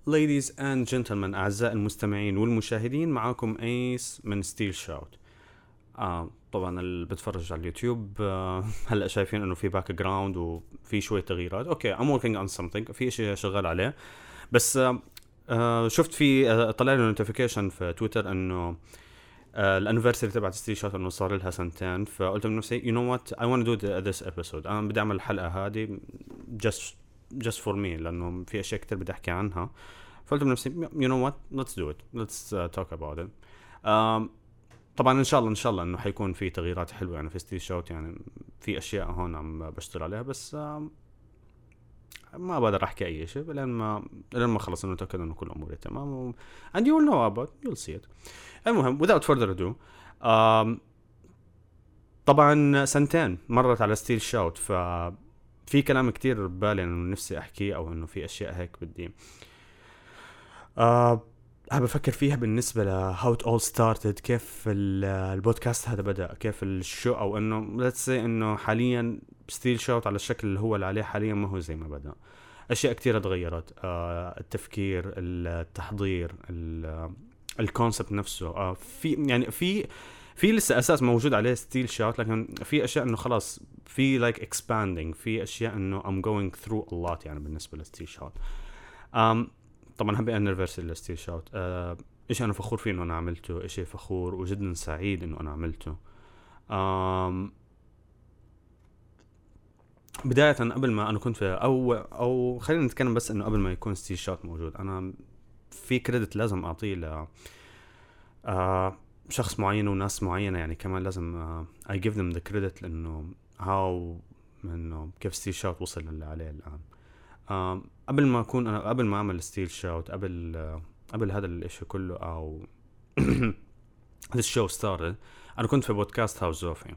Ladies and gentlemen أعزائي المستمعين والمشاهدين، معاكم أيس من ستيل شاوت. طبعا اللي بتفرج على اليوتيوب هلأ شايفين إنه في باك جراوند وفي شوية تغييرات. أوكي I'm working on something، في إشي شغال عليه. بس شفت في طلع لي نوتيفيكيشن في تويتر إنه الانيفرساري تبعت ستيل شاوت إنه صار لها سنتين، فقلت من نفسي you know what I want to do this episode. أنا بدي أعمل الحلقة هذه just for me لأنه في أشياء كتير بدي أحكي عنها. فقلت من نفسي you know what let's do it, let's talk about it. طبعا إن شاء الله إنه حيكون في تغييرات حلوة يعني في ستيل شاوت، يعني في أشياء هون عم بشتغل عليها، بس ما بقدر أحكي أي شيء لين ما خلص إنه أتأكد إنه كل أموري تمام and you will know about you'll see it. المهم without further ado طبعا سنتين مرت على ستيل شاوت، ففي كلام كتير ببالي إنه نفسي أحكيه أو إنه في أشياء هيك بدي بفكر فيها بالنسبة ل how it all started، كيف البودكاست هذا بدأ، كيف الشو، أو إنه let's say إنه حاليا ستيل شاوت على الشكل اللي هو اللي عليه حاليا ما هو زي ما بدأ. أشياء كتيرة تغيرت، التفكير، التحضير، الكونسبت نفسه. في لسه أساس موجود عليه ستيل شاوت، لكن في أشياء إنه خلاص في like expanding، في أشياء إنه I'm going through a lot يعني بالنسبة لستيل شاوت. طبعا هبي anniversary لستيل شاوت، إيش أنا فخور فيه إنه أنا عملته، إشي فخور وجدا سعيد إنه أنا عملته. بداية قبل ما أنا كنت في أو خلينا نتكلم بس إنه قبل ما يكون ستيل شاوت موجود، أنا في كريدت لازم أعطيه ل شخص معين وناس معينة، يعني كمان لازم I give them the credit لأنه إنه كيف ستيل شاوت وصل اللي عليه الآن. قبل ما أكون أنا قبل ما أعمل ستيل شاوت، قبل هذا الإشي كله أو this show started، أنا كنت في بودكاست هاوس زوفي.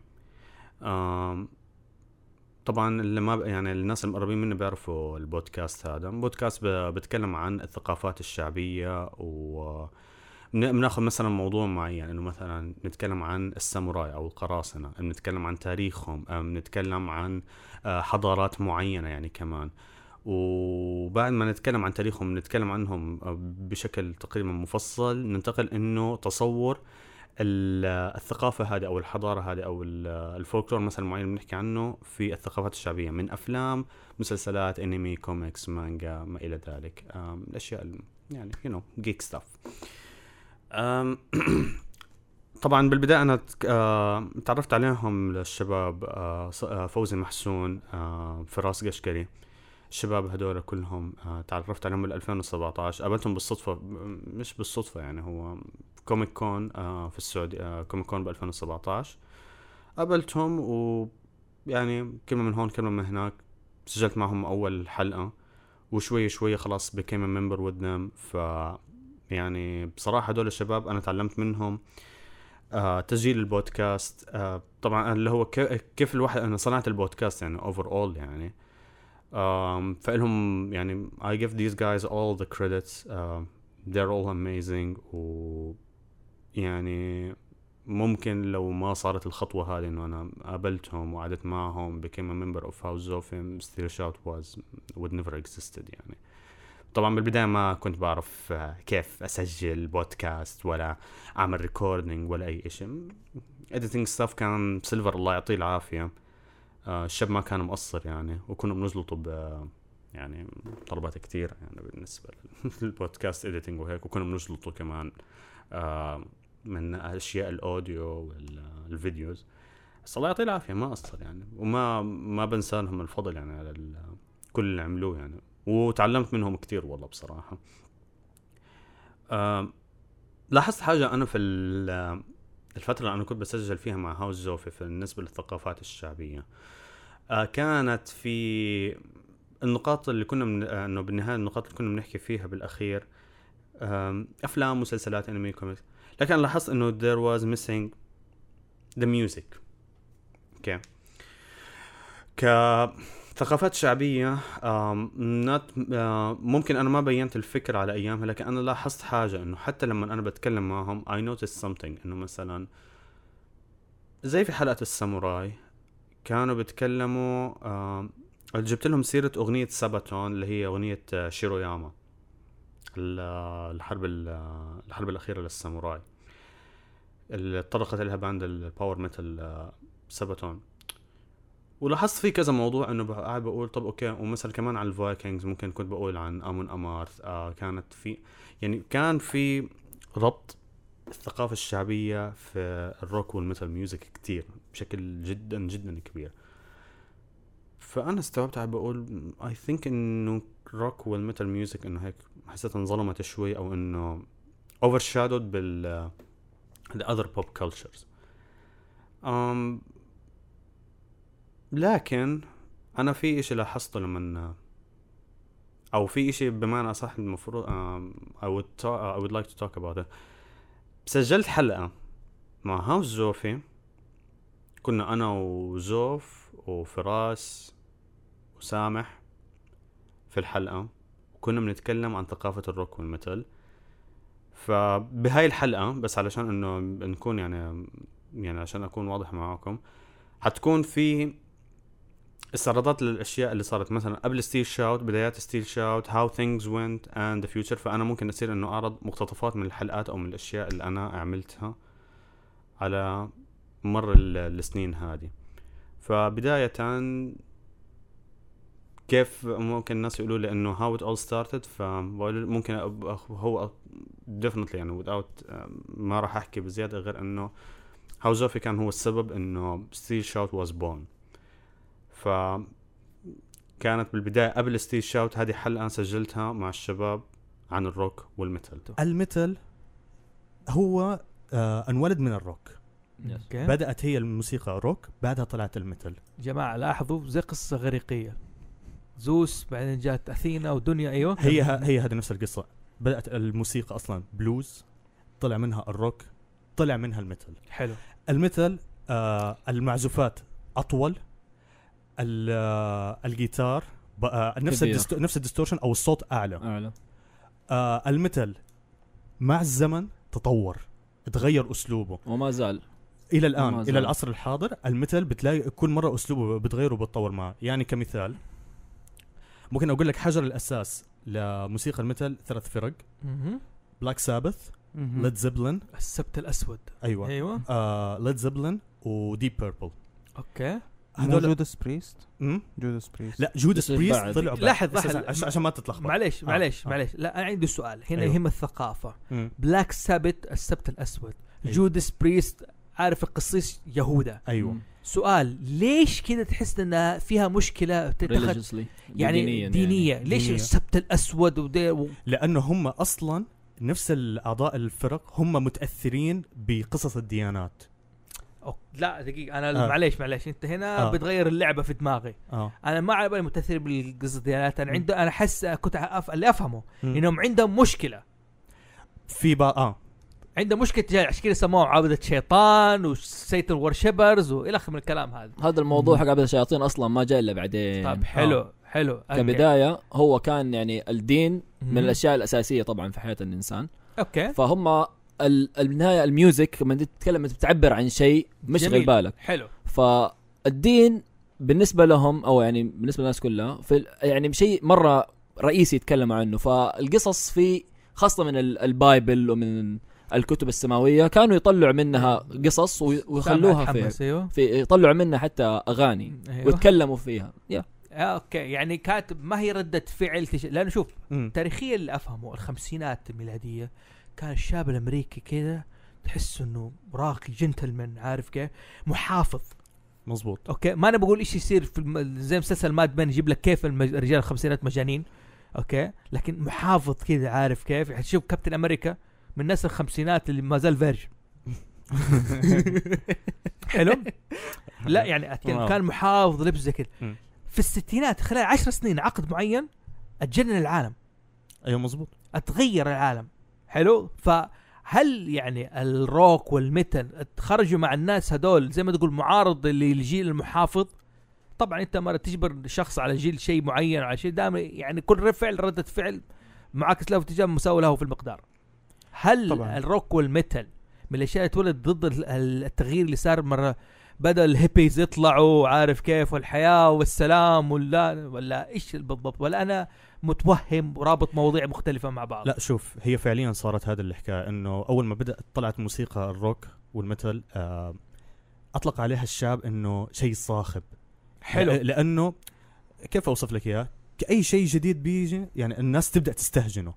طبعا اللي ما يعني الناس المقربين مني بيعرفوا البودكاست هذا. بودكاست بتكلم عن الثقافات الشعبية، بناخذ مثلا موضوع معين، انه مثلا نتكلم عن الساموراي او القراصنة، نتكلم عن تاريخهم، نتكلم عن حضارات معينة يعني كمان. وبعد ما نتكلم عن تاريخهم نتكلم عنهم بشكل تقريبا مفصل، ننتقل انه تصور الثقافة هذه او الحضارة هذه او الفولكلور مثلا معين بنحكي عنه في الثقافات الشعبية، من افلام، مسلسلات، انمي، كوميكس، مانجا، ما الى ذلك. الاشياء يعني geek stuff. طبعا بالبداية أنا تعرفت عليهم للشباب، فوزي محسون، فراس قشقري، الشباب هدول كلهم تعرفت عليهم بال 2017. قابلتهم بالصدفة، مش بالصدفة يعني، هو كوميك كون في السعودية، كوميك كون ب 2017 قابلتهم، ويعني كلمة من هون كلمة من هناك سجلت معهم أول حلقة، وشوي شوي خلاص became a member with them. يعني بصراحة هدول الشباب أنا تعلمت منهم تسجيل البودكاست. طبعا اللي هو كيف الواحد، أنا صنعت البودكاست يعني overall يعني. فإلهم يعني I give these guys all the credits. they're all amazing. ويعني ممكن لو ما صارت الخطوة هذه إنه أنا قابلتهم وقعدت معهم became a member of House Zofim, Steel Shout would never existed يعني. طبعا بالبداية ما كنت بعرف كيف أسجل بودكاست ولا أعمل ريكوردينج ولا أي إشي. editing stuff كان سيلفر الله يعطيه العافية. الشاب ما كان مقصر يعني، وكنا بنزلطه يعني طلبات كتير يعني بالنسبة للبودكاست editing وهيك، وكنا بنزلطه كمان من أشياء الأوديو والفيديوز. بس الله يعطيه العافية ما قصر يعني، وما بنسى لهم الفضل يعني على كل اللي عملوه يعني، وتعلمت منهم كتير والله بصراحة. لاحظت حاجة أنا في الفترة اللي أنا كنت بسجل فيها مع هاوس زوفي في بالنسبة للثقافات الشعبية، كانت في النقاط اللي كنا إنه بالنهاية النقاط اللي كنا بنحكي فيها بالأخير أفلام، مسلسلات، أنمي، كوميكس، لكن لاحظت إنه there was missing the music. okay. ثقافات شعبية ممكن أنا ما بينت الفكرة على أيامها، لكن أنا لاحظت حاجة إنه حتى لما أنا بتكلم معهم I noticed something، إنه مثلا زي في حلقة الساموراي كانوا بيتكلموا، جبت لهم سيرة أغنية ساباتون اللي هي أغنية شيروياما. الحرب الأخيرة للساموراي اللي طرقت لها باند الباور ميتال ساباتون. ولاحظت في كذا موضوع انه قاعد بقول طب اوكي، ومثلا كمان على الفايكنجز ممكن كنت بقول عن امون امارث. كانت في يعني كان في ربط الثقافة الشعبية في الروك والميتال ميوزك كتير بشكل جدا جدا كبير. فأنا استوعبت عم بقول I think إنه الروك والميتال ميوزك إنه هيك حسيت انظلمت شوي، أو إنه overshadowed بال the other pop cultures. لكن أنا في إشي لاحظته لما أو في إشي بمعنى أصح المفروض I would like to talk about it. سجلت حلقة مع هاوس زوفي، كنا أنا وزوف وفراس وسامح في الحلقة، وكنا بنتكلم عن ثقافة الروك والميتال. فبهاي الحلقة بس علشان إنه نكون يعني عشان أكون واضح معاكم، حتكون في استعراضات للأشياء اللي صارت مثلا قبل ستيل شاوت، بدايات ستيل شاوت، how things went and the future. فأنا ممكن أصير إنه أعرض مقتطفات من الحلقات أو من الأشياء اللي أنا عملتها على مر السنين هذه. فبداية كيف ممكن الناس يقولوا لي إنه how it all started، فممكن هو definitely يعني without ما راح أحكي بزيادة غير إنه how زوفي كان هو السبب إنه ستيل شاوت was born. فكانت بالبداية قبل ستيل شاوت هذه حلقة سجلتها مع الشباب عن الروك والميتال. الميتال هو انولد من الروك. بدأت هي الموسيقى روك، بعدها طلعت الميتال. جماعة لاحظوا زي قصة غريقية، زوس بعدين جات أثينا ودنيا. أيوة هي هذه نفس القصة. بدأت الموسيقى أصلا بلوز، طلع منها الروك، طلع منها الميتال. حلو. الميتال المعزوفات أطول، الجيتار نفس الديستورشن أو الصوت أعلى. الميتال مع الزمن تطور، تغير أسلوبه وما زال إلى الآن إلى العصر الحاضر. الميتال بتلاقي كل مرة أسلوبه بتغيره وبتطور معه. يعني كمثال ممكن أقول لك حجر الأساس لموسيقى الميتال 3 فرق: بلاك سابث، ليد زيبلين، السبت الأسود. أيوة. ليد زيبلين وديب بيربل. أوكي. هذول جوداس بريست. لا جوداس بريست طلعوا لاحظ عشان ما تتلخبط. معليش. لا أنا عندي سؤال هنا. يهم الثقافة. بلاك سابث السبت الأسود. جوداس بريست عارف القصيص يهودا. أيوة. سؤال: ليش كده تحس انها فيها مشكله تتخذ يعني دينيه؟ ليش السبت الاسود لانه هم اصلا نفس الاعضاء الفرق هم متاثرين بقصص الديانات. لا دقيقه، انا معليش انت هنا بتغير اللعبه في دماغي. انا ما على بالي متاثر بالقصص الديانات. انا انا حس كنت اللي افهمه انهم عندهم مشكله في عنده مشكلة تجاه، عشان كده سموه عابدة شيطان وسيتر ورشبرز وإلى آخر من الكلام هذا الموضوع حق عابدة الشياطين أصلا ما جاء إلا بعدين. طيب حلو. كبداية هو كان يعني الدين من الأشياء الأساسية طبعا في حياة الإنسان. أوكي. فهم النهاية الميوزك لما تتكلم بتعبر عن شيء مشغل بالك. حلو. فالدين بالنسبة لهم أو يعني بالنسبة للناس كلها في يعني شيء مرة رئيسي يتكلموا عنه. فالقصص في خاصة من البايبل ومن الكتب السماوية كانوا يطلعوا منها قصص ويخلوها في يطلعوا منها حتى أغاني. أيوة. ويتكلموا فيها. اوكي. يعني كاتب ما هي ردة فعل لأنه شوف تاريخيا اللي أفهمه الخمسينات الميلادية كان الشاب الأمريكي كده تحس إنه راقي جنتلمان، عارف كيف، محافظ. مزبوط. اوكي. ما أنا بقول إيش يصير في زي مسلسل ماد بن يجيب لك كيف الرجال الخمسينات مجانين. اوكي. لكن محافظ كده، عارف كيف. هتشوف كابتن أمريكا من الناس الخمسينات اللي ما زال فيرج. حلو. لا يعني كان محافظ لبس زي كده. في الستينات خلال 10 سنين عقد معين اتجنن العالم. ايوه مزبوط. اتغير العالم. حلو. فهل يعني الروك والميتال خرجوا مع الناس هدول زي ما تقول معارض للجيل المحافظ؟ طبعا انت ما تجبر شخص على جيل شيء معين على شيء دائما، يعني كل فعل ردة فعل معاكس له اتجاه مساوي له في المقدار. هل طبعاً الروك والميتال من الاشياء اللي تولد ضد التغيير اللي صار مرة بدأ الهيبيز يطلعوا، عارف كيف، والحياة والسلام ولا ايش بالضبط؟ ولا انا متوهم ورابط مواضيع مختلفه مع بعض. لا شوف، هي فعليا صارت هذا الحكايه، انه اول ما بدأت طلعت موسيقى الروك والميتال اطلق عليها الشعب انه شيء صاخب. حلو. لانه كيف اوصف لك اياه، كأي شيء جديد بيجي يعني الناس تبدأ تستهجنه،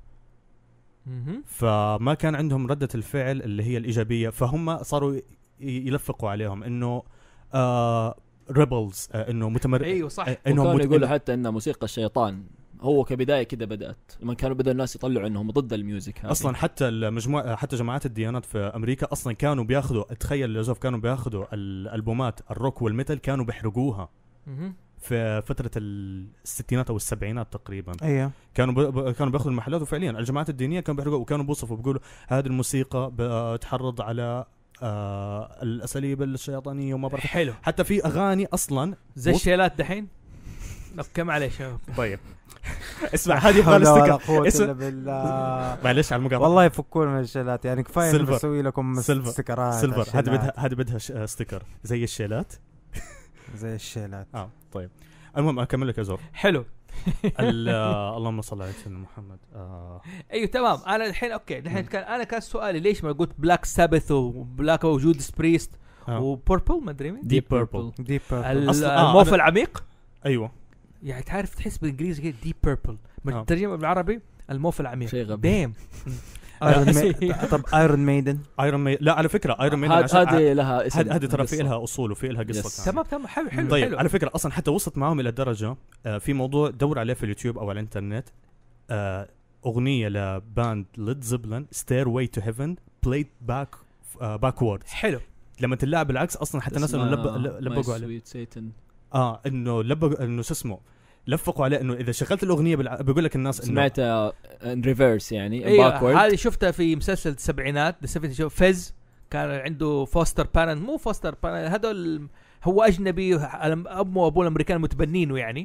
فما كان عندهم ردة الفعل اللي هي الإيجابية، فهم صاروا يلفقوا عليهم إنه ريبلز، إنه ايوه صح. انهم يقولوا حتى ان موسيقى الشيطان هو كبداية كده بدأت لما كانوا بدأ الناس يطلعوا انهم ضد الميوزك هذه. اصلا حتى المجموعه، حتى جماعات الديانات في امريكا اصلا كانوا بياخذوا، تخيل يا زوف، كانوا بياخذوا الالبومات الروك والميتال كانوا بيحرقوها في فترة الستينات أو السبعينات تقريبا. أيه. كانوا بياخذوا المحلات، وفعليا الجماعات الدينية كانوا بيحرقوا، وكانوا بيوصفوا بيقولوا هذه الموسيقى بتحرض على الأساليب الشيطانية وما بعرف. حلو. حتى في أغاني أصلا زي الشيلات دحين. كم عليه شباب. طيب اسمع، هذه ولا اسمع بالله. معلش على المقاطعة، والله يفكون من الشيلات يعني، كفاية سيلفر. نسوي لكم استيكرات سيلفر. هذه بدها ستيكر زي الشيلات. زي الشيلات. طيب المهم اكمل لك يا زور. حلو. اللهم صل على سيدنا محمد. ايوه تمام. انا الحين اوكي، الحين كان سؤالي ليش ما قلت بلاك سابث وبلاك وجودس بريست وبوربل، ما ادري مين ديب بيربل. الموف العميق. ايوه يعني تعرف تحس بالانجليزي كده ديب بيربل، بالترجمه بالعربي الموف العميق. شيء غبي. ديم. طب ايرون ميدن. لا على فكره ايرون ميدن هذه لها اسم، هذه ترى في لها اصول وفي لها قصه. تمام حلو. طيب حلو. على فكره اصلا حتى وصلت معهم الى درجه في موضوع دور عليه في اليوتيوب او على الانترنت، اغنيه لباند ليد زيبلين ستيرواي تو هيفن بلايد باكوردز. حلو. لما تلعب بالعكس اصلا حتى الناس انه لبقوا عليه انه لبقوا انه شو اسمه، لفقوا عليه انه اذا شغلت الاغنيه بيقول لك الناس انه سمعتها ان ريفرس يعني باكورد. هذه شفتها في مسلسل السبعينات شو فيز، كان عنده فوستر بارنت، مو فوستر بارنت، هذول هو اجنبي، امه وابوه الامريكان متبنينه يعني.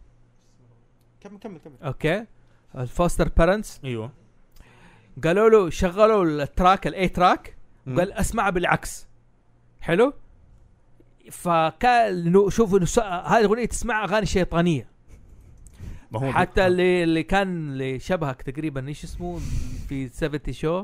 كمل اوكي. الفوستر بارنتس ايوه قالوا له شغلوا التراك الاي تراك، وقال اسمعها بالعكس. حلو. فكان شوفوا هذه الاغنيه تسمع اغاني شيطانيه. حتى اللي كان اللي شبهك تقريبا ايش اسمه في 70 شو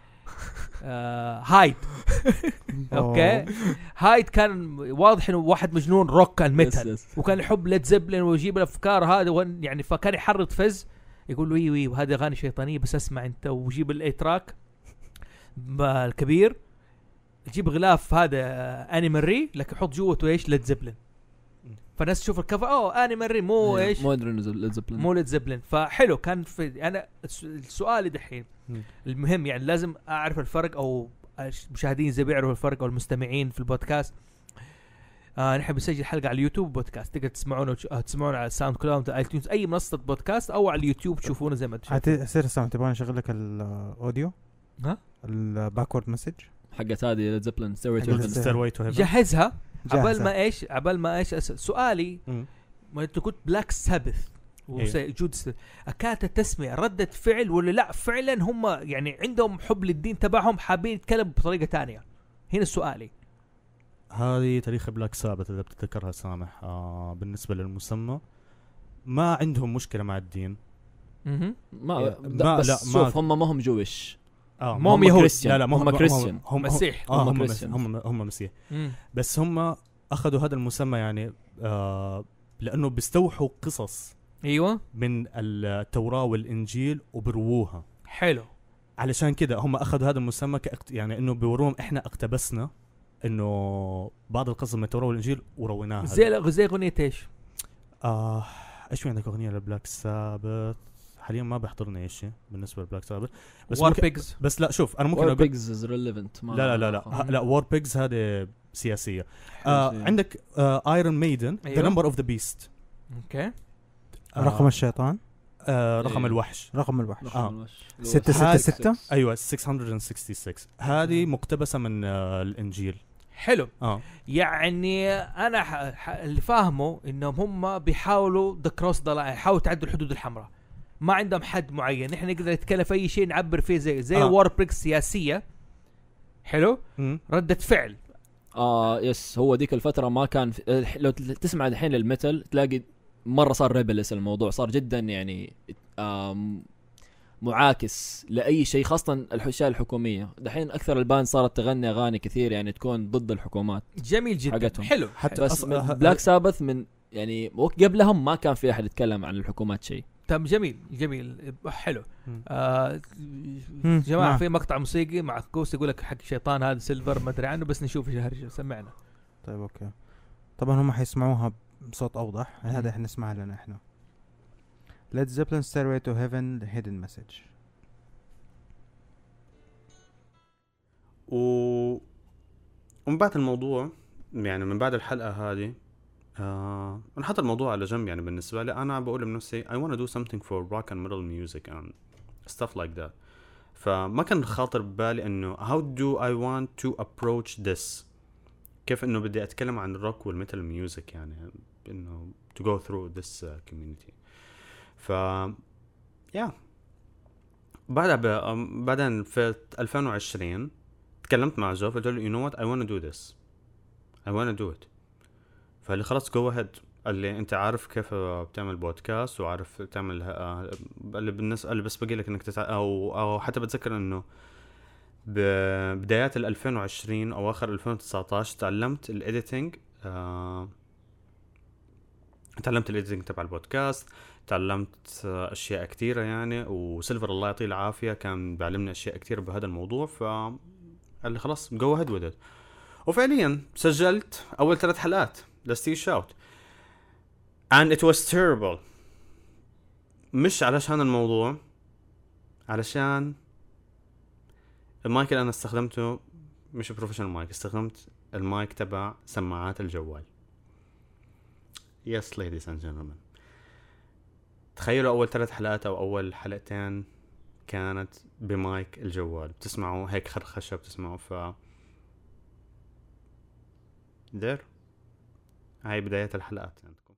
هايد. اوكي. هايد كان واضح انه واحد مجنون روك الميتال، وكان يحب ليد زيبلين ويجيب الافكار هذا يعني، فكان يحرض فز يقول له وي وهذه اغاني شيطانيه بس اسمع انت، وجيب الاي تراك الكبير، يجيب غلاف هذا انيمال ري لكن يحط جوته ايش ليد زيبلين، فالناس تشوف الكفر انيمال ري مو ايش مو ليد زيبلين، مو ليد زيبلين. فحلو كان في انا السؤال دحين المهم يعني لازم اعرف الفرق، او المشاهدين زي بيعرفوا الفرق، او المستمعين في البودكاست. نحن بنسجل حلقه على اليوتيوب بودكاست، تقدر تسمعونا على ساوند كلاود، ايتونز، اي منصه بودكاست، او على اليوتيوب تشوفونا زي ما تشوفون. حتصير سامع تبغى نشغل لك الاوديو الباكورد مسج حقت هذه ليد زيبلين ستيرواي تو هيفن، جهزها عبال ما ايش سؤالي ما انت قلت بلاك سابث وجود كانت التسمية ردة فعل ولا لا فعلا هم يعني عندهم حب للدين تبعهم حابين يتكلموا بطريقة تانية؟ هنا سؤالي. هذه تاريخ بلاك سابث إذا بتتذكرها سامح. بالنسبة للمسمى ما عندهم مشكلة مع الدين. لا شوف هم ما هم جويش، هم يهود، لا هم كريستيان، هم مسيح، هم مسيح. بس هم أخذوا هذا المسمى يعني لأنه بيستوحوا قصص ايوه من التوراة والإنجيل وبرووها. حلو. علشان كده هم أخذوا هذا المسمى يعني إنه بيوروهم إحنا اقتبسنا إنه بعض القصص من التوراة والإنجيل ورويناها. زي أغنية إيش؟ إيش عندك أغنية لبلاك سابث؟ حاليا ما بيحضرني إيش بالنسبة لبلاك سابث. بس وار بيجز. بس لا شوف أنا ممكن وار بيجز از ريليفنت. لا وار بيجز هذه سياسية. عندك ايرون ميدن ذا نمبر اوف ذا بيست. اوكي. رقم الشيطان. رقم الوحش. 666. ايوه 666. هذه مقتبسة من الانجيل. حلو. يعني انا اللي فاهمه انهم هم بيحاولوا ذا كروس ذا لاين، يحاولوا تعدوا الحدود الحمراء، ما عندهم حد معين. احنا نقدر نتكلم في اي شيء نعبر فيه زي وار بريكس سياسية. حلو. ردة فعل. يس هو ديك الفترة ما كان لو تسمع الحين للميتال تلاقي مره صار ريبلس الموضوع، صار جدا يعني معاكس لاي شيء، خاصه الاشياء الحكوميه. دحين اكثر الباند صارت تغني اغاني كثير يعني تكون ضد الحكومات. جميل جدا حقتهم. حلو. حتى بس بلاك سابث من يعني قبلهم ما كان في احد يتكلم عن الحكومات شيء. تمام جميل حلو. جماعه في مقطع موسيقي مع كوس يقول لك حق شيطان هذا سيلفر ما ادري عنه، بس نشوف ايش هرجه. سمعنا. طيب اوكي. طبعا هم حيسمعوها بصوت اوضح. هذا احنا نسمعها لنا احنا. Led Zeppelin Stairway to Heaven The Hidden Message. ومن بعد الموضوع يعني من بعد الحلقة هذه نحط الموضوع على جنب. يعني بالنسبة لي أنا بقول لنفسي I want to do something for rock and metal music and stuff like that. فما كان خاطر ببالي إنه how do I want to approach this، كيف إنه بدي أتكلم عن الروك والميتال ميوزك، يعني إنه to go through this community. yeah. بعدين في 2020 تكلمت مع جو، قلت له you know what I want to do this, I want to do it. فقال لي خلاص go ahead. قال لي انت عارف كيف بتعمل بودكاست وعارف تعمل قال لي بالنسبه اللي بس بقول لك انك او حتى بتذكر انه ببدايات 2020 او اخر 2019 تعلمت الايديتنج. تعلمت الايديتنج تبع البودكاست، تعلمت اشياء كثيره يعني، وسيلفر الله يعطيه العافيه كان بيعلمني اشياء كثيره بهذا الموضوع. فقال لي خلاص go ahead with it. وفعليا سجلت اول 3 حلقات لستي شاوت and it was terrible. مش علشان الموضوع، علشان المايك اللي انا استخدمته مش بروفيشنال مايك، استخدمت المايك تبع سماعات الجوال. yes ladies and gentlemen، تخيلوا اول 3 حلقات او اول حلقتين كانت بمايك الجوال، بتسمعوا هيك خرخشه، بتسمعوا دير. هاي بداية الحلقات عندكم.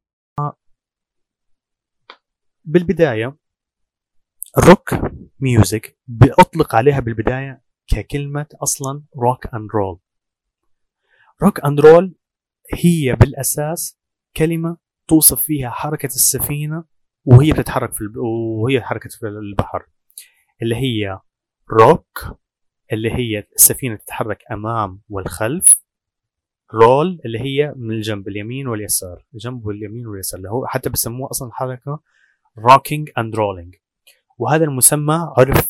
بالبداية الروك ميوزك بأطلق عليها بالبداية ككلمة أصلا روك أند رول. روك أند رول هي بالأساس كلمة توصف فيها حركة السفينة وهي بتتحرك وهي حركة في البحر، اللي هي روك اللي هي السفينة تتحرك أمام والخلف، رول اللي هي من الجنب اليمين واليسار، الجنب واليمين واليسار، اللي هو حتى بسموه أصلا حركة rocking and rolling. وهذا المسمى عرف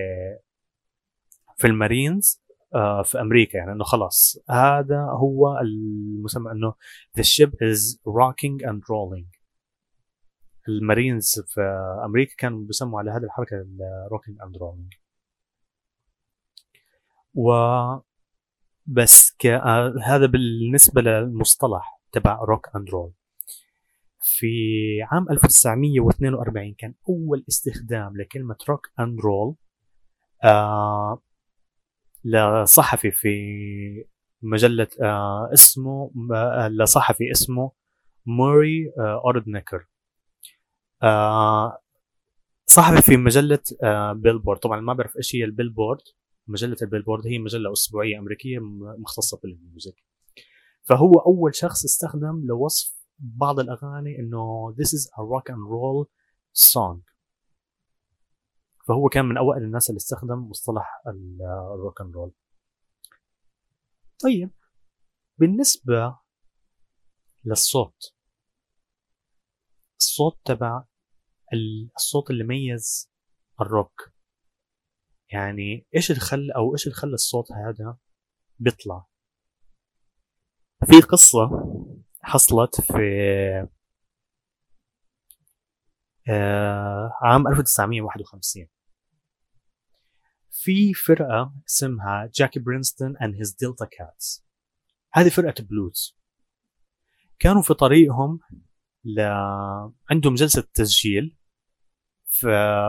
في المارينز في أمريكا، يعني أنه خلاص هذا هو المسمى، أنه the ship is rocking and rolling. المارينز في أمريكا كانوا بيسموا على هذه الحركة rocking and rolling. بس هذا بالنسبة للمصطلح تبع روك أند رول. في عام 1942 كان أول استخدام لكلمة روك أند رول لصحفي في مجلة لصحفي اسمه موري أوردنكر، صحفي في مجلة بيلبورد. طبعا ما بعرف إيش هي البيلبورد. مجلة البيلبورد هي مجلة أسبوعية أمريكية مختصة بالميوزك. فهو أول شخص استخدم لوصف بعض الأغاني إنه this is a rock and roll song. فهو كان من أوائل الناس اللي استخدم مصطلح الروك and roll. طيب بالنسبة للصوت، الصوت تبع الصوت اللي ميز الروك، يعني ايش اللي خلى الصوت هذا بيطلع. في قصة حصلت في عام 1951 في فرقة اسمها جاكي برينستون and his Delta Cats. هذه فرقة بلوز، كانوا في طريقهم عندهم جلسة تسجيل في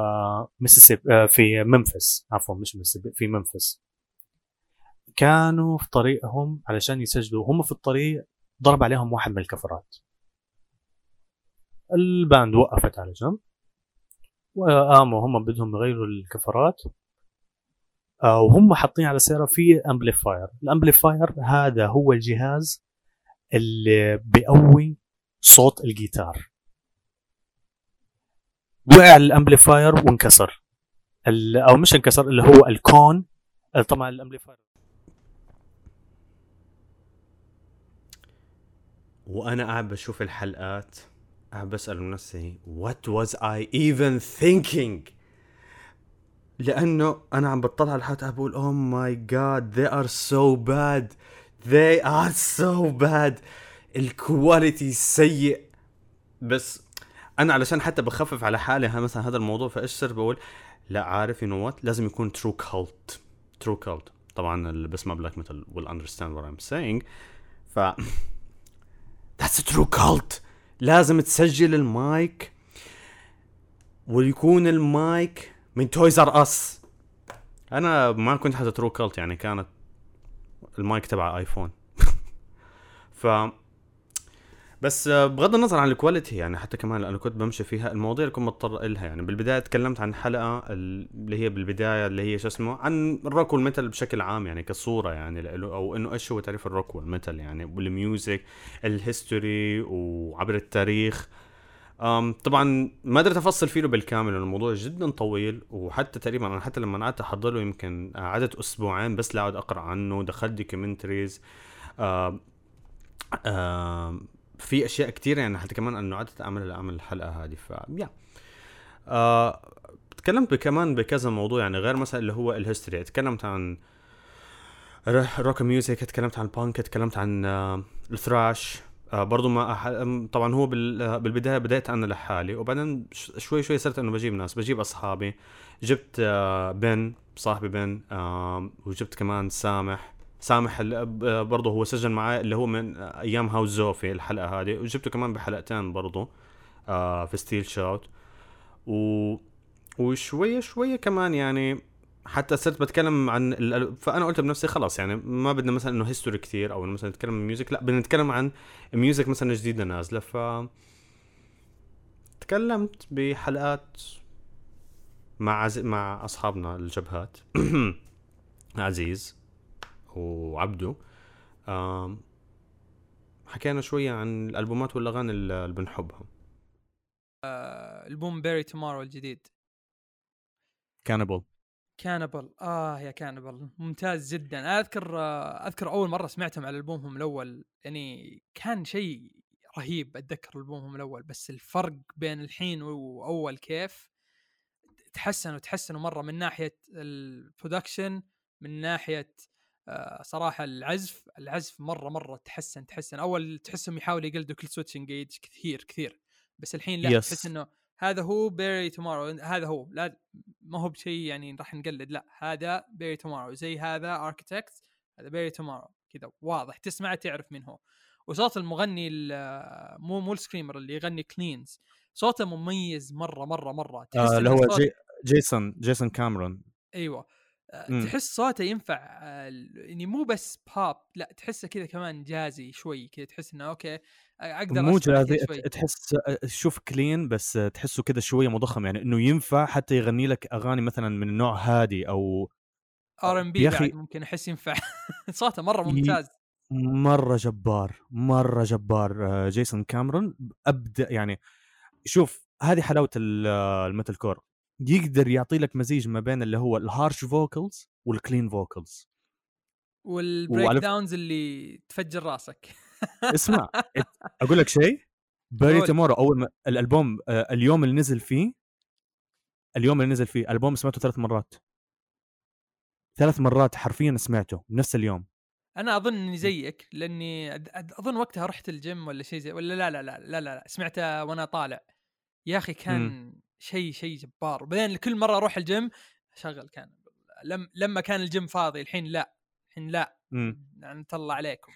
في منفس، عفوا مش ميسيسيبي، في منفس. كانوا في طريقهم علشان يسجلوا، هم في الطريق ضرب عليهم واحد من الكفرات. الباند وقفت على جنب وقاموا هم بدهم يغيروا الكفرات، وهم حاطين على السيارة في امبليفاير. الامبليفاير هذا هو الجهاز اللي بيقوي صوت الجيتار. وقع الامبليفاير وانكسر، او مش انكسر، اللي هو الكون. طبعا الامبليفاير. وانا قاعد بشوف الحلقات قاعد بسأل نفسي what was I even thinking، لانه انا عم بطلع على الحلقات بقول oh my god they are so bad they are so bad، الكواليتي سيء. بس انا علشان حتى بخفف على حالي مثلا هذا الموضوع، فايش صرت بقول لا عارف you know what لازم يكون true cult. طبعا اللي بسمع بلاك ميتال will understand what I'm saying. ف that's a true cult. لازم تسجل المايك ويكون المايك من تويز ار اس. انا ما كنت حتى ترو كالت، يعني كانت المايك تبع ايفون. ف بس بغض النظر عن الكواليتي يعني حتى كمان لانه كنت بمشي فيها المواضيع اللي كنت مضطر لها. يعني بالبدايه تكلمت عن حلقه اللي هي بالبدايه اللي هي شو اسمه عن الروك والميتال بشكل عام، يعني كصوره يعني له، او انه ايش هو تعريف الروك والميتال يعني، والميوزك الهيستوري وعبر التاريخ. طبعا ما قدرت افصل فيه بالكامل لأن الموضوع جدا طويل، وحتى تقريبا انا حتى لما قعدت احضر له يمكن قعدت اسبوعين بس لاقعد اقرا عنه، دخلت دوكيومنتريز في اشياء كتير يعني حتى كمان انه قعدت اعمل الحلقه هذه. ف يا تكلمت كمان بكذا موضوع يعني غير مثلا اللي هو الهيستوري، تكلمت عن روك ميوزك، تكلمت عن بانك، تكلمت عن الثراش. برضو ما طبعا هو بالبداية بدأت أنا لحالي، وبعدين شوي صرت أنه بجيب ناس، بجيب أصحابي. جبت بن صاحبي بن، وجبت كمان سامح برضو هو سجل معي اللي هو من أيام هاوس زوفي الحلقة هذه، وجبته كمان بحلقتين برضو في ستيل شوت. وشوية كمان يعني حتى صرت بتكلم عن فانا قلت بنفسي خلاص يعني ما بدنا مثلا انه هيستوري كتير او مثلا نتكلم عن ميوزك، لا بدنا نتكلم عن ميوزك مثلا جديده نازله. ف تكلمت بحلقات مع اصحابنا الجبهات عزيز وعبدو. حكينا شويه عن الالبومات والاغاني اللي بنحبها. البوم بيري تومارو الجديد كانبل يا كانبل ممتاز جدا. أنا اذكر اول مره سمعتهم على البومهم الاول يعني كان شيء رهيب. اتذكر البومهم الاول، بس الفرق بين الحين واول كيف تحسنوا مره من ناحيه البرودكشن، من ناحيه صراحه العزف مره تحسن. اول تحسهم يحاولوا يقلدوا كل سويتش انجيج كثير، بس الحين لا تحس انه هذا هو بيري تومارو، هذا هو، لا ما هو بشيء يعني راح نقلد، لا هذا بيري تومارو، زي هذا اركيتكت، هذا بيري تومارو كذا واضح تسمع تعرف من هو. وصوت المغني مو السكريمر اللي يغني كلينز، صوته مميز مره تحس اللي هو جيسون كاميرون. ايوه تحس صوته ينفع يعني مو بس باب، لا تحسه كذا كمان جازي شوي كذا، تحس انه اوكي اقدر مو اسمع جازي، شوي. تحس شوف كلين بس تحسه كذا شويه مضخم، يعني انه ينفع حتى يغني لك اغاني مثلا من النوع هادي او R&B بعد ممكن احس ينفع. صوته مره ممتاز، مره جبار جيسون كاميرون. ابدا يعني شوف هذه حلاوه الميتال كور، يقدر يعطي لك مزيج ما بين اللي هو الهارش فوكلز والكلين فوكلز والبريك داونز اللي تفجر راسك. اسمع اقول لك شيء، بيري تومورو اول ما الالبوم اليوم اللي نزل فيه الالبوم سمعته 3 مرات حرفيا سمعته نفس اليوم. انا اظن اني زيك، لاني اظن وقتها رحت الجيم ولا شيء زي، ولا لا سمعته وانا طالع. يا اخي كان شيء جبار. وبعدين كل مره اروح الجيم اشغل كان لما كان الجيم فاضي. الحين لا نطلع عليكم.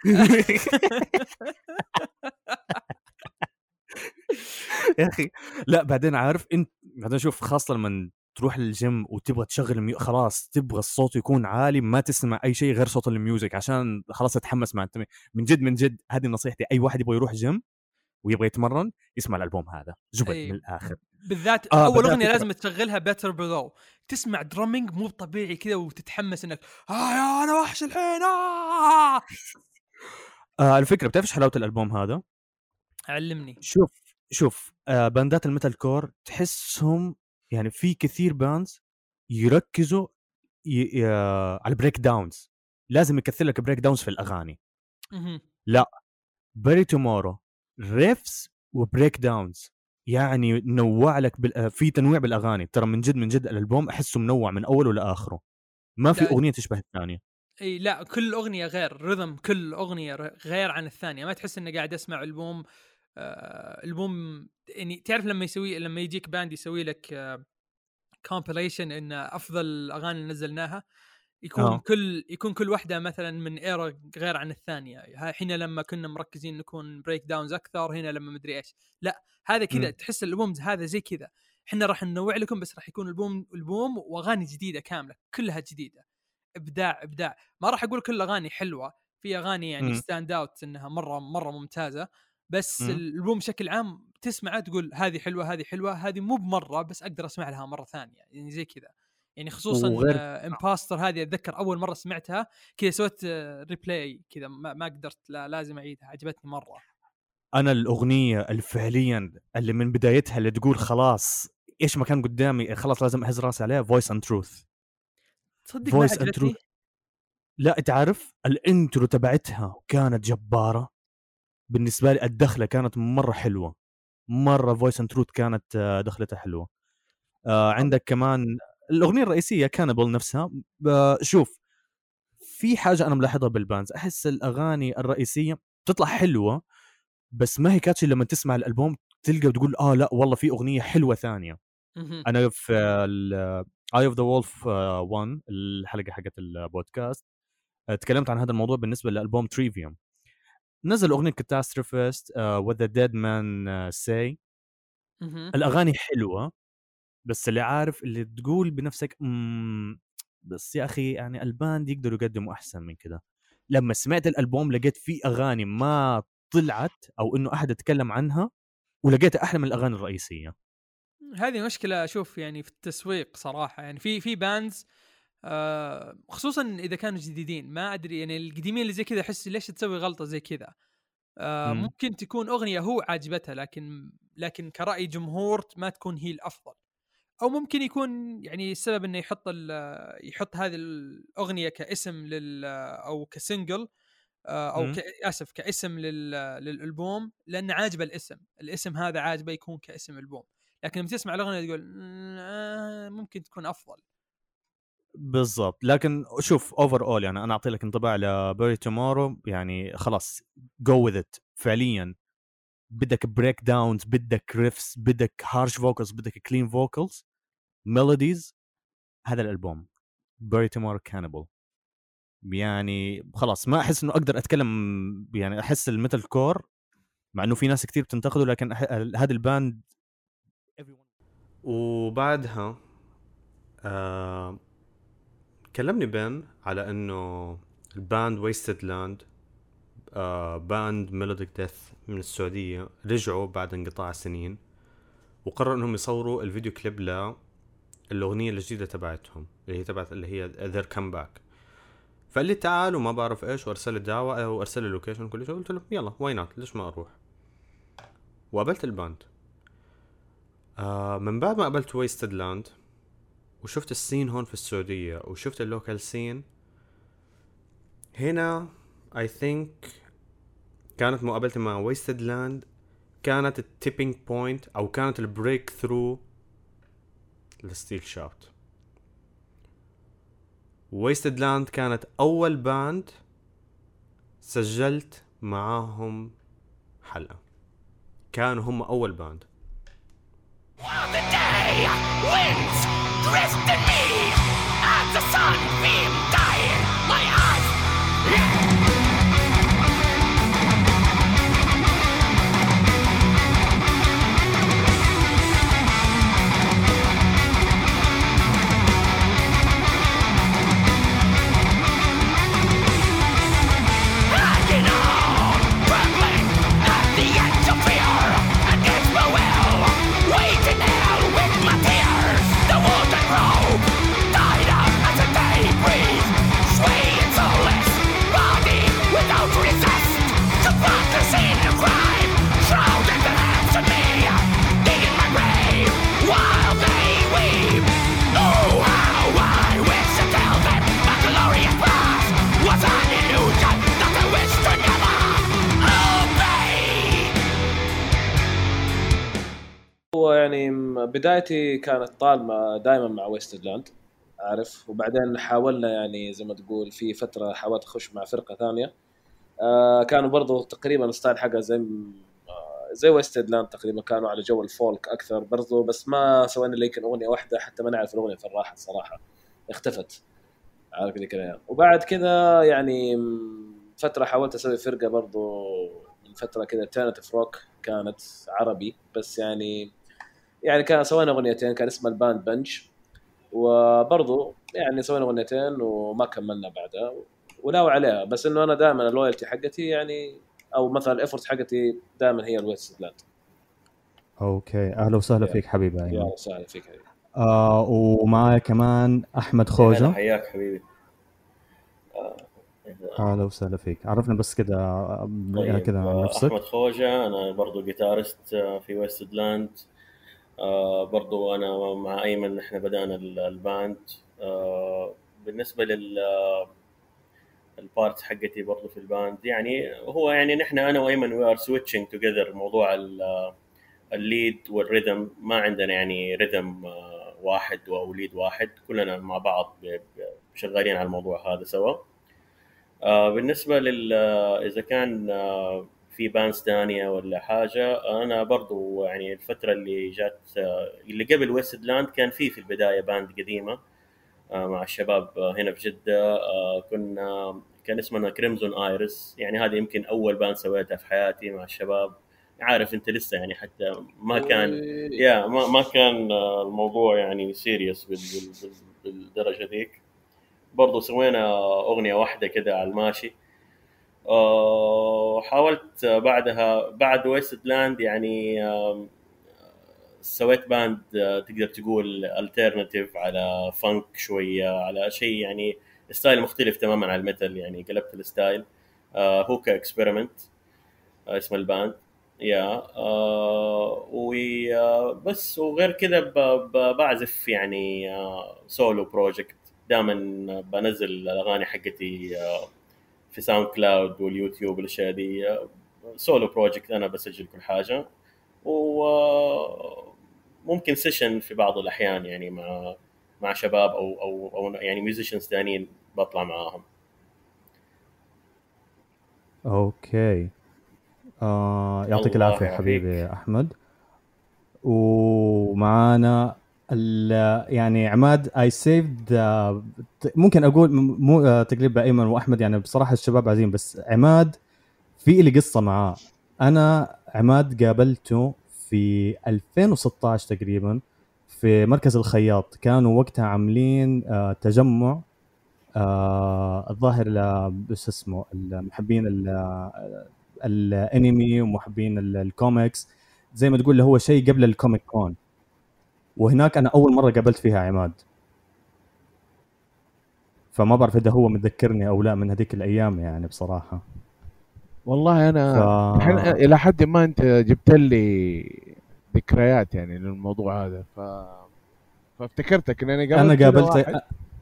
يا اخي لا بعدين عارف انت بعدين شوف خاصه لما تروح للجيم وتبغى تشغل خلاص تبغى الصوت يكون عالي، ما تسمع اي شيء غير صوت الميوزك عشان خلاص تتحمس مع التمرين. من جد هذه نصيحتي، اي واحد يبغى يروح جيم ويبغى يتمرن يسمع الالبوم هذا جبل من الاخر. بالذات اول اغنيه لازم تشغلها بيتر بلو، تسمع درامينج مو طبيعي كذا وتتحمس انك يا انا وحش الحين. الفكره بتعرف حلاوه الالبوم هذا؟ علمني. شوف شوف باندات الميتال كور تحسهم يعني في كثير باندز يركزوا على البريك داونز، لازم يكثر لك بريك داونز في الاغاني. لا، بري تومورو ريفز وبريك داونز، يعني نوع لك في تنويع بالاغاني. ترى من جد الالبوم احسه منوع من اوله لاخره، ما في اغنيه تشبه الثانيه. اي لا، كل اغنيه غير رذم، كل اغنيه غير عن الثانيه، ما تحس انك قاعد اسمع البوم. البوم يعني تعرف لما يجيك باند يسوي لك كومبيليشن ان افضل الاغاني اللي نزلناها، يكون كل واحده مثلا من ايرا غير عن الثانيه. حين لما كنا مركزين نكون بريك داونز اكثر، هنا لما مدري ايش. لا هذا كذا تحس الالبوم هذا زي كذا، احنا راح ننوع لكم، بس راح يكون البوم واغاني جديده كامله كلها جديده. ابداع. ما راح اقول كل اغاني حلوه، في اغاني يعني ستاند اوت انها مره ممتازه، بس الالبوم بشكل عام تسمعه تقول هذه حلوه، هذه مو بمره، بس اقدر اسمع لها مره ثانيه يعني زي كذا. يعني خصوصا امباستر هذه اتذكر اول مره سمعتها كذا سويت ريبلاي كذا، ما قدرت، لازم اعيدها، عجبتني مره. انا الاغنيه الفعليا اللي من بدايتها اللي تقول خلاص ايش ما كان قدامي خلاص لازم اهز راسي عليها، فويس اند تروث. تصدق ما عجبتني؟ لا تعرف الانترو تبعتها كانت جباره بالنسبه لي، الدخله كانت مره حلوه، مره فويس اند تروث كانت دخلتها حلوه. عندك كمان الاغنيه الرئيسيه كانبل نفسها. شوف في حاجه انا ملاحظها بالبانز، احس الاغاني الرئيسيه بتطلع حلوه بس ما هي كاتشي، لما تسمع الالبوم تلقى وتقول لا والله في اغنيه حلوه ثانيه. انا في اي اوف ذا وولف 1 الحلقه حقت البودكاست تكلمت عن هذا الموضوع بالنسبه لالبوم تريفيوم. نزل اغنيه كاتاستروفيست with the dead man say. الاغاني حلوه بس اللي عارف اللي تقول بنفسك بس يا اخي يعني الباند يقدروا يقدموا احسن من كده. لما سمعت الالبوم لقيت فيه اغاني ما طلعت او انه احد يتكلم عنها ولقيتها احلى من الاغاني الرئيسيه. هذه مشكله اشوف يعني في التسويق صراحه. يعني في باندز خصوصا اذا كانوا جديدين، ما ادري يعني القديمين اللي زي كذا احس ليش تسوي غلطه زي كذا. ممكن تكون اغنيه هو عاجبتها لكن كرأي جمهور ما تكون هي الافضل، او ممكن يكون يعني السبب انه يحط هذه الاغنيه كاسم او كسنجل او كاسم للالبوم، لان عاجبه الاسم هذا عاجبه يكون كاسم البوم. لكن لما تسمع الاغنيه تقول ممكن تكون افضل. بالضبط. لكن شوف اوفر اول يعني انا اعطي لك انطباع لبري تومورو، يعني خلاص جو وذ ات. فعليا بدك بريك داونز، بدك ريفس، بدك هارش فوكلز، بدك كلين فوكلز، ميلوديز. هذا الالبوم بري تومورو كانبل. يعني خلاص ما احس انه اقدر اتكلم، يعني احس الميتال كور مع انه في ناس كتير بتنتقده لكن هذا الباند. وبعدها كلمني بن على انه الباند ويستد لاند باند ميلوديك ديث من السعودية رجعوا بعد انقطاع سنين وقرروا انهم يصوروا الفيديو كليب للأغنية الجديدة تبعتهم اللي هي Their Comeback. فقال لي تعال وما بعرف ايش، وارسل لي دعوة وارسل لي لوكيشن كل شيء. قلت له يلا واي نوت، ليش ما اروح. وقابلت الباند. من بعد ما قابلت ويستد لاند وشفت السين هون في السعودية وشفت اللوكال سين هنا، I think كانت مقابلتي مع ويستد لاند كانت التيبينج بوينت او كانت البريك ثرو لستيل شاوت. ويستد لاند كانت اول باند سجلت معاهم حلقة، كانوا هم اول باند. The day winds dressed in me as the sunbeam dying my eyes. Hanging on, trembling at the edge of fear, against my will, waiting there with my tears, the wooden rope بدايتي كانت طالمة دائما مع ويستلاند عارف، وبعدين حاولنا يعني زي ما تقول في فترة حاولت أخش مع فرقة ثانية كانوا برضو تقريبا ستايل حاجة زي ويستلاند تقريبا، كانوا على جو الفولك أكثر برضو، بس ما سوينا اللي يمكن أغنية واحدة حتى ما نعرف الأغنية في الراحة الصراحة اختفت عارف ذيك الأيام. وبعد كذا يعني فترة حاولت أسوي فرقة برضو من فترة كذا alternative روك كانت عربي، بس يعني كان سوينا أغنيتين كان اسمها الباند بنج، وبرضو يعني سوينا أغنيتين وما كملنا بعدها وناوي عليها، بس إنه أنا دائما اللويالتي حقتي يعني أو مثلا الإفورت حقتي دائما هي الويستلاند. اوكي، اهلا وسهلا فيك حبيبي يا ايمن. سهلا فيك حبيبي. ومعي كمان احمد هلا خوجة. حياك حبيبي. اهلا وسهلا فيك، عرفنا بس كده طيب كده عن نفسك. احمد خوجة، انا برضو جيتارست في ويستلاند. برضو انا مع ايمن احنا بدأنا الباند. بالنسبة البارت حقتي برضو في الباند، يعني هو يعني نحن انا وايمن وي ار سويتشنج توجذر موضوع الليد والريذم، ما عندنا يعني ريذم واحد او ليد واحد، كلنا مع بعض شغالين على الموضوع هذا سوا. بالنسبة إذا كان في بانس ثانية ولا حاجة، أنا برضو يعني الفترة اللي جات اللي قبل ويستلاند كان في البداية باند قديمة مع الشباب هنا في جدة. كان اسمنا كريمزون آيرس، يعني هذه يمكن أول باند سويتها في حياتي مع الشباب. عارف أنت لسه يعني حتى ما كان ما كان الموضوع يعني سيريس بالدرجة ذيك. برضو سوينا أغنية واحدة كده على الماشي. حاولت بعدها بعد ويستلاند يعني سويت باند تقدر تقول alternative على فانك شوية، على شيء يعني ستايل مختلف تماما عن الميتال، يعني قلبت الستايل. هوكا اكسبيرمنت اسم الباند يا وبس. وغير كده بعزف يعني سولو بروجكت، دائما بنزل الاغاني حقتي في ساوند كلاود واليوتيوب والاشياء دي. سولو بروجكت انا بسجل كل حاجه، وممكن سيشن في بعض الاحيان يعني مع شباب او يعني ميوزيشنز ثانيين بطلع معاهم. اوكي. يعطيك الله العافيه يعافيك. حبيبي احمد. ومعانا يعني عماد اي سيفد. ممكن اقول مو تقليب ايمن واحمد، يعني بصراحه الشباب عايزين، بس عماد في لي قصه معاه. انا عماد قابلته في 2016 تقريبا في مركز الخياط، كانوا وقتها عاملين تجمع الظاهر بس اسمه المحبين الانمي ومحبين الكوميكس، زي ما تقول اللي هو شيء قبل الكوميك كون. وهناك انا اول مره قابلت فيها عماد، فما بعرف اذا هو متذكرني او لا من هذيك الايام يعني بصراحه. والله انا الى حد ما انت جبت لي ذكريات يعني للموضوع هذا، فافتكرتك ان انا قابلت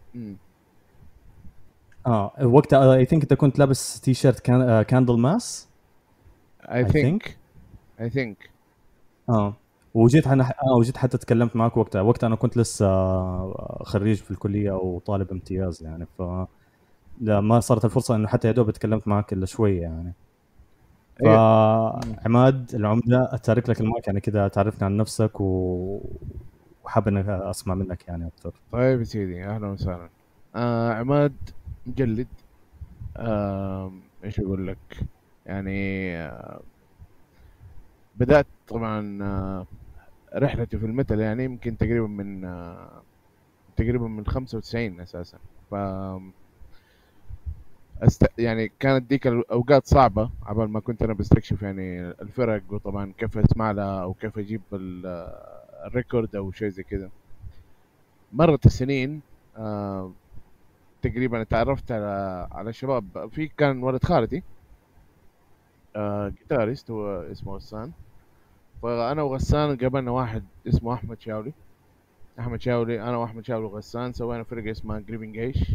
وقتها اي ثينك انت كنت لابس تي شيرت كاندل ماس اي ثينك وجيت وجيت حتى تكلمت معك وقتها انا كنت لسه خريج في الكليه او طالب امتياز يعني، ف لا ما صارت الفرصه انه حتى يا دوب تكلمت معك الا شويه يعني. فعماد العمده اتارك لك المايك يعني كذا تعرفنا عن نفسك وحاب انك اسمع منك يعني اكثر. طيب يا سيدي، اهلا وسهلا. عماد مجلد. ايش اقول لك يعني، بدأت طبعا رحلتي في الميتال يعني يمكن تقريبا من 95 اساسا. ف يعني كانت ديك الاوقات صعبه عبال ما كنت انا بستكشف يعني الفرق، وطبعا كيف اسمع لها او كيف اجيب الريكورد او شيء زي كده. مرت السنين تقريبا تعرفت على شباب. في كان ولد خالتي جيتاريست هو اسمه غسان، فانا وغسان قابلنا واحد اسمه احمد شاولي. انا واحمد شاولي وغسان سوينا فرقه اسمها جريفنج ايش.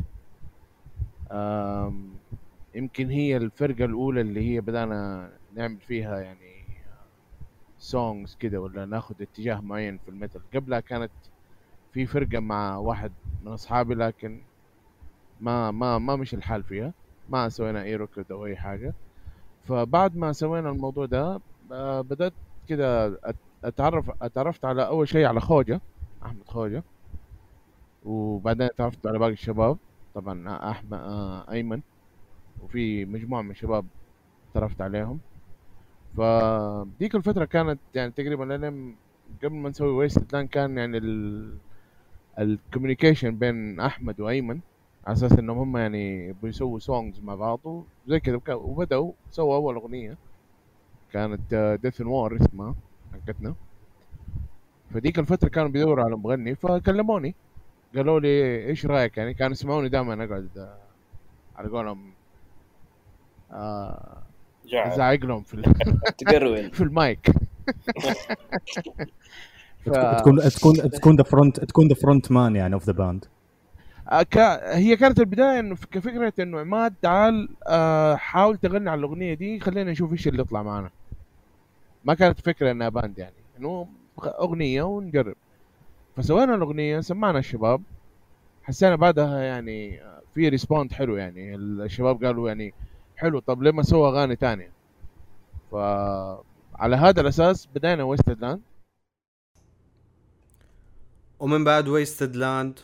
يمكن هي الفرقه الاولى اللي هي بدانا نعمل فيها يعني سونجز كده ولا ناخذ اتجاه معين في الميتال. قبلها كانت في فرقة مع واحد من أصحابي لكن ما مش الحال فيها، ما سوينا أي ركض أو أي حاجة. فبعد ما سوينا الموضوع ده بدأت كده اتعرفت على أول شيء على خوجة، أحمد خوجة، وبعدين تعرفت على باقي الشباب طبعا أحمد أيمن، وفي مجموعة من الشباب تعرفت عليهم. فديك الفترة كانت يعني تقريبا لين قبل ما نسوي ويست لاند كان يعني الكوميونيكيشن بين أحمد وأيمن على أساس إنهم هم يعني بيسووا سونجز مع بعض وزي كذا، وبدأوا سووا أول أغنية كانت Death and War اسمها حقتنا. فديك الفترة كانوا بيدوروا على مغني فكلموني قالوا لي إيش رأيك، يعني كانوا يسمعوني دائما أقعد على قولهم زعق لهم في تقرون في المايك. تكون ذا فرونت مان يعني اوف ذا باند. هي كانت البدايه انه كفكره انه عماد تعال حاول تغني على الاغنيه دي، خلينا نشوف ايش اللي يطلع معنا. ما كانت فكره انها باند، يعني انه اغنيه ونجرب. فسوينا الاغنيه سمعنا الشباب، حسينا بعدها يعني في ريسبوند حلو، يعني الشباب قالوا يعني حلو، طب ليه ما سوى اغاني تانية؟ فعلى هذا الاساس بدينا ويستد لاند. ومن بعد ويستد لاند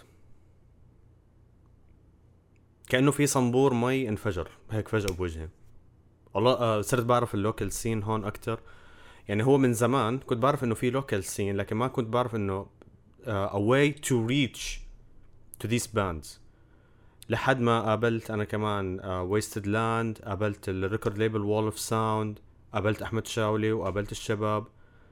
كأنه في صنبور مي انفجر هيك فجأة بوجهي. والله صرت بعرف اللوكال سين هون أكتر. يعني هو من زمان كنت بعرف إنه في لوكال سين، لكن ما كنت بعرف إنه a way to reach to these bands. لحد ما قابلت أنا كمان ويستد لاند، قابلت الريكورد ليبل وول اوف ساوند، قابلت أحمد شاولي وقابلت الشباب،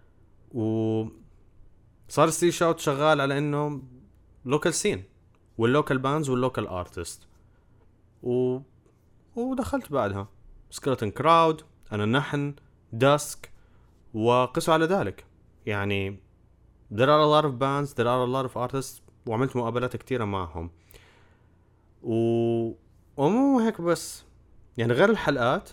وصار ستيل شاوت شغال على إنه لوكال سين واللوكال بانز واللوكال ارتست. ودخلت بعدها سكيلتون كراود، أنا نحن، داسك، وقسوا على ذلك. يعني there are a lot of bands, there are a lot of artists، وعملت مقابلات كتيرة معهم. ومو هيك بس، يعني غير الحلقات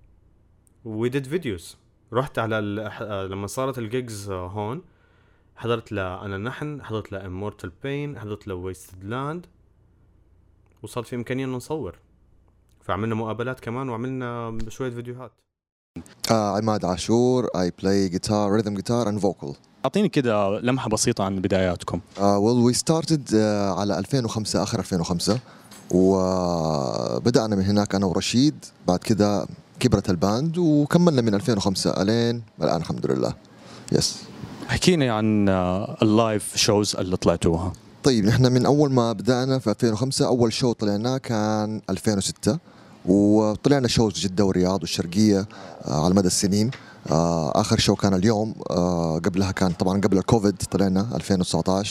we did videos. رحت على لما صارت الجيجز هون، حضرت أنا نحن، حضرت Immortal Pain، حضرت Wasted Land، وصار في إمكانية إنه نصور. فعملنا مقابلات كمان وعملنا شوية فيديوهات. عماد عاشور، I play guitar, rhythm guitar and vocal. أعطيني كده لمحة بسيطة عن بداياتكم. Well, we started على 2005، آخر 2005، وبدأنا من هناك أنا ورشيد. بعد كده كبرت الباند وكملنا من 2005 ألين الآن الحمد لله. يس. حكينا عن اللايف شوز اللي طلعتوها. طيب نحن من أول ما بدأنا في 2005 أول شو طلعناه كان 2006، وطلعنا شوز جدة والرياض والشرقية على مدى السنين. آخر شو كان اليوم، قبلها كان طبعا قبل الكوفيد طلعنا 2019.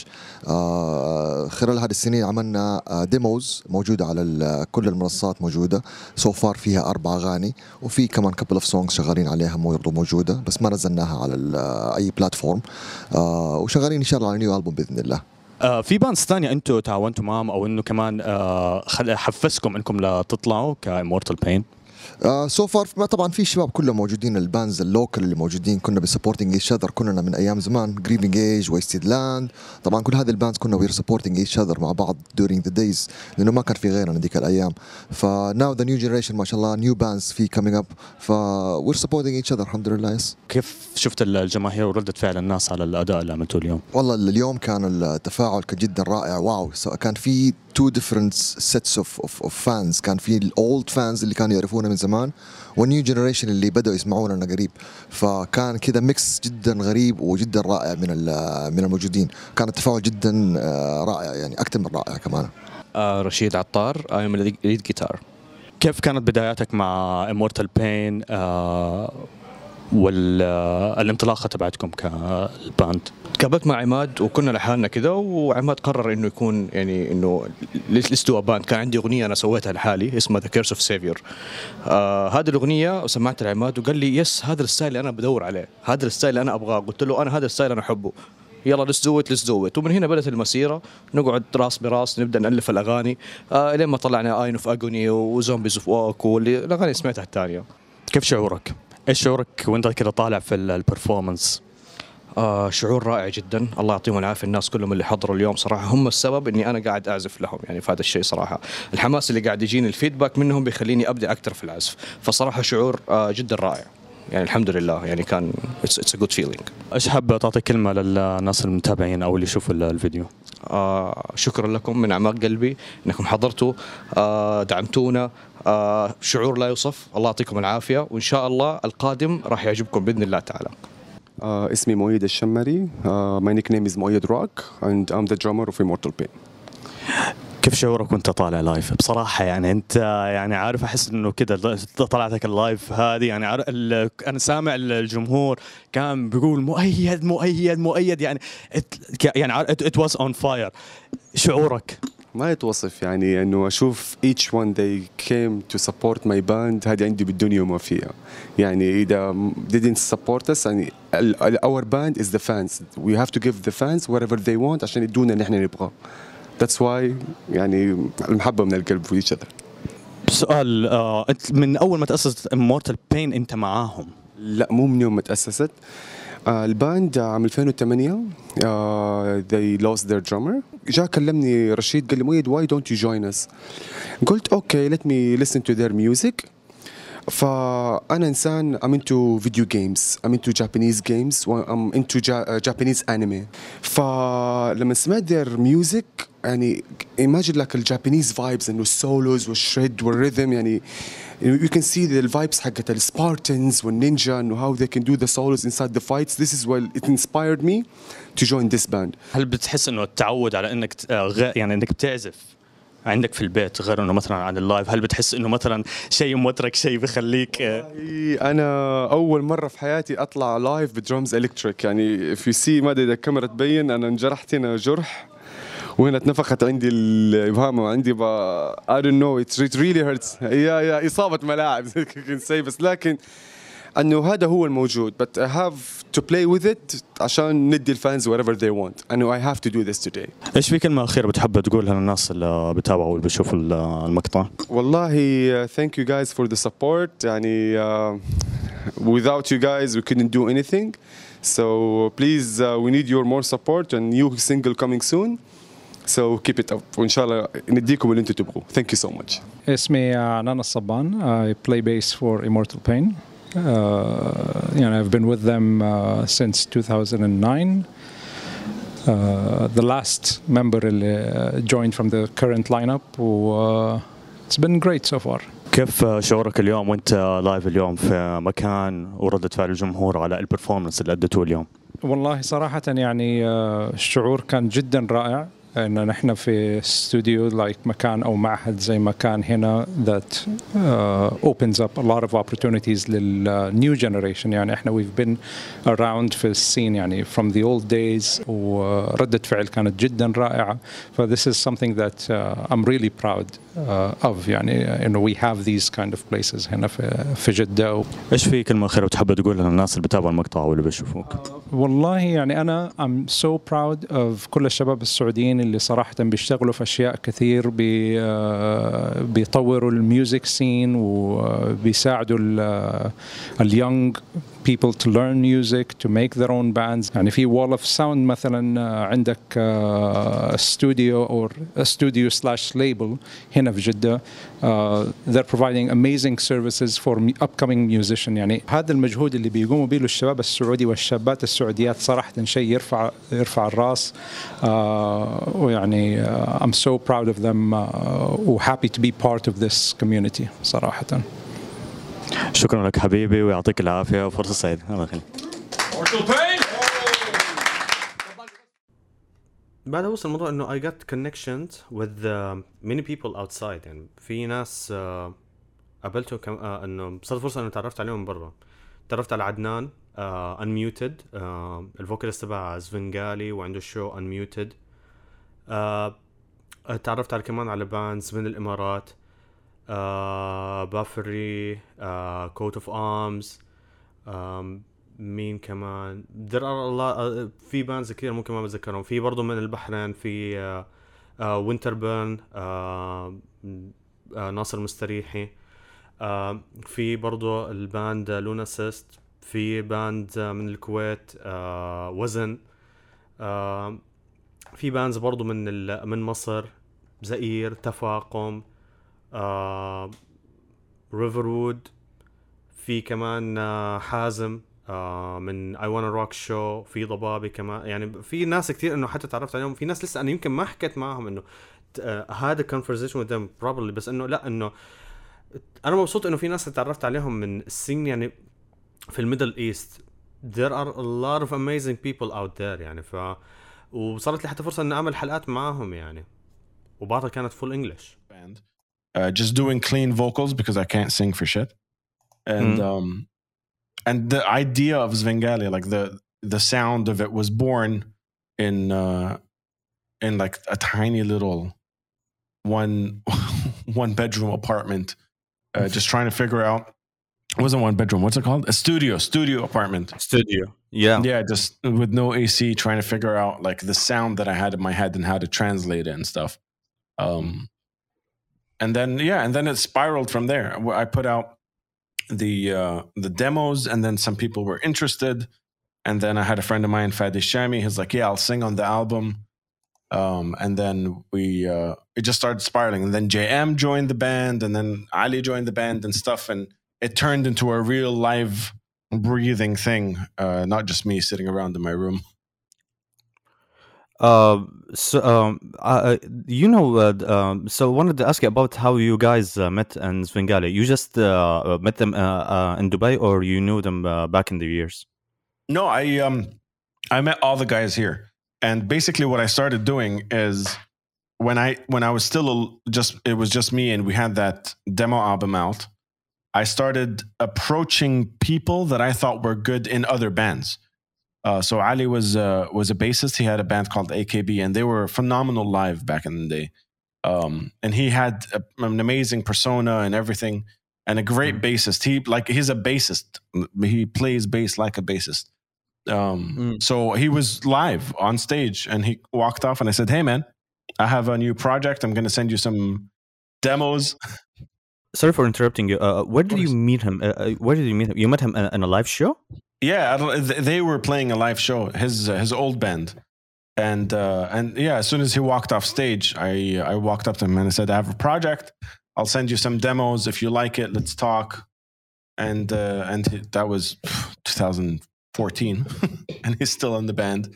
خلال هذه السنين عملنا ديموز موجودة على كل المنصات موجودة. سو فار فيها 4 أغاني، وفي كمان كابل اوف سونجز شغالين عليها موجودة، بس ما نزلناها على أي بلاتفورم. وشغالين إن شاء الله على نيو ألبوم بإذن الله. في باندز ثانية أنتوا تعاونتوا معهم أو إنه كمان حفزكم إنكم لتطلعوا كإمورتال بين؟ سو فار طبعا في شباب كلهم موجودين، البانز اللوكال اللي موجودين كنا بسبورتنج ايش اذر، كنا من ايام زمان جريفنج ايج، ويستد لاند، طبعا كل هذه البانز كنا وير سبورتنج ايش اذر مع بعض during the days، لانه ما كان في غيرنا ذيك الايام. فناو ذا نيو جنريشن ما شاء الله نيو بانز في كامينج اب، ف وير سبورتنج ايش اذر الحمد لله. يس. كيف شفت الجماهير وردة فعل الناس على الاداء اللي عملتوه اليوم؟ والله اليوم كان التفاعل كان جدا رائع. واو، كان في two different sets of fans. كان في الاولد فانز اللي كانوا يعرفونا من زمان، والنيو جنريشن اللي بدأوا يسمعونا قريب. فكان كذا ميكس جدا غريب وجدا رائع من الموجودين. كان التفاعل جدا رائع، يعني أكثر من رائع كمان. رشيد عطار، I'm lead guitar. كيف كانت بداياتك مع Immortal Pain والانطلاقة تبعتكم كالباند؟ تقابلت مع عماد وكنا لحالنا كذا، وعماد قرر انه يكون يعني انه let's do a band. كان عندي اغنيه انا سويتها لحالي اسمها The Curse of Savior. هذه الاغنيه وسمعتها لعماد وقال لي يس هذا الستايل اللي انا بدور عليه، هذا الستايل اللي انا ابغاه. قلت له انا هذا الستايل انا احبه، يلا let's do it. ومن هنا بدأت المسيرة، نقعد راس براس نبدأ نألف الأغاني لين ما طلعنا Eye of Agony وزومبيز اوف ووك والأغاني سمعتها الثانية. كيف شعورك ايش شعورك وانت كذا طالع في البرفورمانس؟ شعور رائع جدا، الله يعطيهم العافيه الناس كلهم اللي حضروا اليوم صراحه، هم السبب اني انا قاعد اعزف لهم يعني في هذا الشيء صراحه. الحماس اللي قاعد يجيني الفيدباك منهم بيخليني ابدع اكثر في العزف، فصراحه شعور جدا رائع يعني الحمد لله يعني كان it's a good feeling. ايش حاب تعطي كلمه للناس المتابعين او اللي يشوفوا الفيديو؟ شكرا لكم من اعماق قلبي انكم حضرتوا، دعمتونا، شعور لا يوصف، الله يعطيكم العافيه، وان شاء الله القادم راح يعجبكم باذن الله تعالى. اسمي مؤيد الشمري. My nickname is مؤيد روك and I'm the drummer of Immortal Pain. كيف شعورك وانت طالع لايف؟ بصراحة يعني انت يعني عارف احس انه كده طلعتك اللايف هذه يعني انا سامع الجمهور كان بيقول مؤيد مؤيد مؤيد يعني it was on fire. شعورك؟ ما يتوصف يعني انه اشوف each one they came to support my band، هذه عندي بالدنيا وما فيها. يعني اذا didn't support us يعني our band is the fans. We have to give the fans whatever they want عشان يدونا اللي احنا نبغاه. That's why يعني المحبة من القلب في each other. سؤال، انت من اول ما تأسست Immortal Pain انت معاهم؟ لا مو من يوم ما تأسست. الباند عام 2008 they lost their drummer. جاء كلمني رشيد قال لي مؤيد why don't you join us؟ قلت okay let me listen to their music. فأنا إنسان I'm into video games, I'm into Japanese games, I'm into Japanese anime. فلما سمعت their music يعني imagine like الجابانيز vibes إنه السولوز والشريد والرhythm يعني you can see the vibes حقت السبارتنز والنينجا إنه how they can do the solos inside the fights. This is what it inspired me to join this band. هل بتحس إنه التعود على إنك يعني إنك بتعزف عندك في البيت غير انه مثلا عن اللايف، هل بتحس انه مثلا شيء موترك شيء بخليك؟ انا اول مره في حياتي اطلع لايف بدرمز الكتريك يعني في سي ما ادري اذا الكاميرا تبين انا انجرحت هنا جرح وهنا اتنفخت عندي الابهام وعندي I don't know it really hurts. يا اصابه ملاعب بس لكن انه هذا هو الموجود but I have to play with it عشان ندي الفانز whatever they want and I have to do this today. ايش في كلمه اخيره بتحب تقولها للناس اللي بتابعوا واللي بيشوفوا المقطع؟ والله thank you guys for the support يعني without you guys we couldn't do anything so please we need your more support and new single coming soon so keep it up وإن شاء الله نديكم اللي انتم تبغوا. Thank you so much. اسمي نانا الصبان. I play bass for Immortal Pain. I've been with them since 2009. The last member joined from the current lineup. It's been great so far. كيف شعورك اليوم وانت لايف اليوم في مكان وردة فعل الجمهور على البرفورمانس اللي أديتوه اليوم؟ والله صراحة يعني الشعور كان جدا رائع إن نحن في استوديو مكان أو معهد زي مكان هنا that opens up a lot of opportunities لل new generation. يعني إحنا we've been around في السين يعني from the old days وردة فعل كانت جدا رائعة. ف this is something that I'm really proud of يعني إنه we have these kind of places هنا في جدة. إيش في كلمة أخيرة بتحب تقولها للناس اللي بتابعوا المقطع واللي بيشوفوك؟ والله يعني أنا I'm so proud of كل الشباب السعوديين اللي صراحة بيشتغلوا في أشياء كثير بيطوروا الميوزك سين وبيساعدوا اليونج people to learn music to make their own bands. يعني في Wall of Sound مثلا عندك studio or a studio / label هنا في جدة. They're providing amazing services for upcoming musicians. يعني هذا المجهود اللي بيقوموا به الشباب السعودي والشابات السعوديات صراحة شيء يرفع الراس. ويعني I'm so proud of them و happy to be part of this community صراحة. شكرا لك حبيبي ويعطيك العافية وفرصة سعيدة. الله يخليك. بعد وصل الموضوع انه I got connections with many people outside. يعني في ناس قابلتهم انه صارت فرصة انه تعرفت عليهم برا. تعرفت على عدنان Unmuted الفوكاليست تبع زفنغالي وعنده شو Unmuted. تعرفت على كمان على باندز من الامارات بافري كوت اوف ارمز مين كمان there are a lot في بانز كثير ممكن ما بتذكرهم. في برضو من البحرين في وينتربيرن ناصر مستريحي في برضو الباند لونا سيست، في باند من الكويت وزن، في باندز برضو من مصر، زئير، تفاقم، ريفرود، في كمان حازم من I Wanna Rock Show، في ضبابي كمان. يعني في ناس كتير انه حتى تعرفت عليهم، في ناس لسه انا يمكن ما حكيت معهم انه هذا conversation with them probably، بس انه لا، انه انا مبسوط انه في ناس تعرفت عليهم من السين يعني في الميدل ايست. there are a lot of amazing people out there يعني. وصارت لي حتى فرصة ان اعمل حلقات معاهم يعني، وبعضها كانت full English. Just doing clean vocals because I can't sing for shit. And the idea of Svengali, like the sound of it, was born in like a tiny little one bedroom apartment, just trying to figure out. It wasn't one bedroom. What's it called? A studio apartment. Studio. Yeah, just with no AC, trying to figure out like the sound that I had in my head and how to translate it and stuff. And then it spiraled from there. I put out the demos, and then some people were interested, and then I had a friend of mine, Fadi Shami. He's like, "Yeah, I'll sing on the album." And then it just started spiraling, and then JM joined the band, and then Ali joined the band and stuff, and it turned into a real live breathing thing, not just me sitting around in my room. So I wanted to ask you about how you guys met in Svengali. You just met them in Dubai, or you knew them back in the years? No, I met all the guys here, and basically what I started doing is when I was still it was just me, and we had that demo album out. I started approaching people that I thought were good in other bands. So Ali was a bassist. He had a band called AKB, and they were phenomenal live back in the day. And he had an amazing persona and everything, and a great bassist. He's a bassist. He plays bass like a bassist. So he was live on stage, and he walked off, and I said, "Hey man, I have a new project. I'm going to send you some demos." Sorry for interrupting you. Where did you meet him? You met him in a live show? Yeah, they were playing a live show, his old band, and yeah, as soon as he walked off stage, I walked up to him and I said, "I have a project. I'll send you some demos. If you like it, let's talk." And that was 2014, and he's still in the band.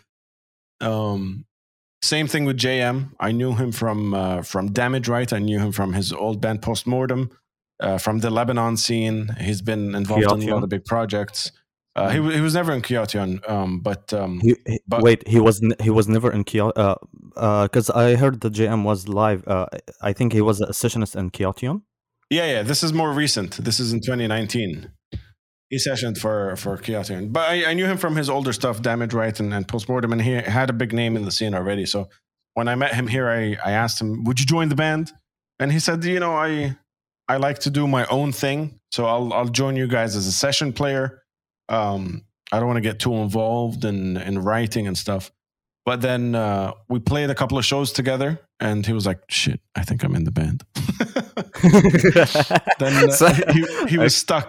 Same thing with JM. I knew him from Damage Right. I knew him from his old band Postmortem, from the Lebanon scene. He's been involved in a lot of big projects. He was never in Kyotion, but wait, he was never in Kyotion, because I heard that JM was live. I think he was a sessionist in Kyotion. Yeah. This is more recent. This is in 2019. He sessioned for Kyotion, but I knew him from his older stuff, Damage Right and Postmortem, and he had a big name in the scene already. So when I met him here, I asked him, "Would you join the band?" And he said, "You know, I like to do my own thing, so I'll join you guys as a session player. I don't want to get too involved in writing and stuff." But then we played a couple of shows together, and he was like, "Shit, I think I'm in the band." Then he was stuck.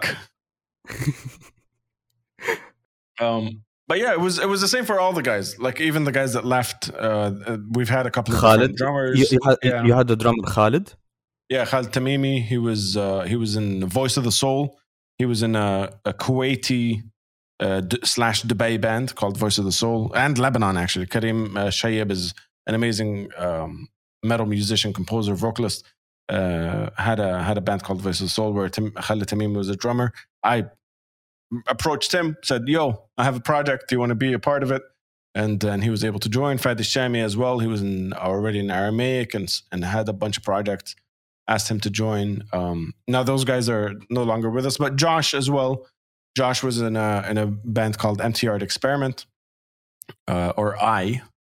But yeah, it was the same for all the guys. Like even the guys that left, we've had a couple of different drummers. You had the drummer Khalid. Yeah, Khalid Tamimi. He was in Voice of the Soul. He was in a Kuwaiti / Dubai band called Voice of the Soul, and Lebanon actually. Karim Shayeb is an amazing metal musician, composer, vocalist. Had a band called Voice of the Soul where Khalid Tamimi was a drummer. I approached him, said, "Yo, I have a project. Do you want to be a part of it?" And he was able to join. Fadi Shami as well. He was already in Aramaic and had a bunch of projects. Asked him to join. Now those guys are no longer with us, but Josh as well. Josh was in a band called Empty Art Experiment, or I.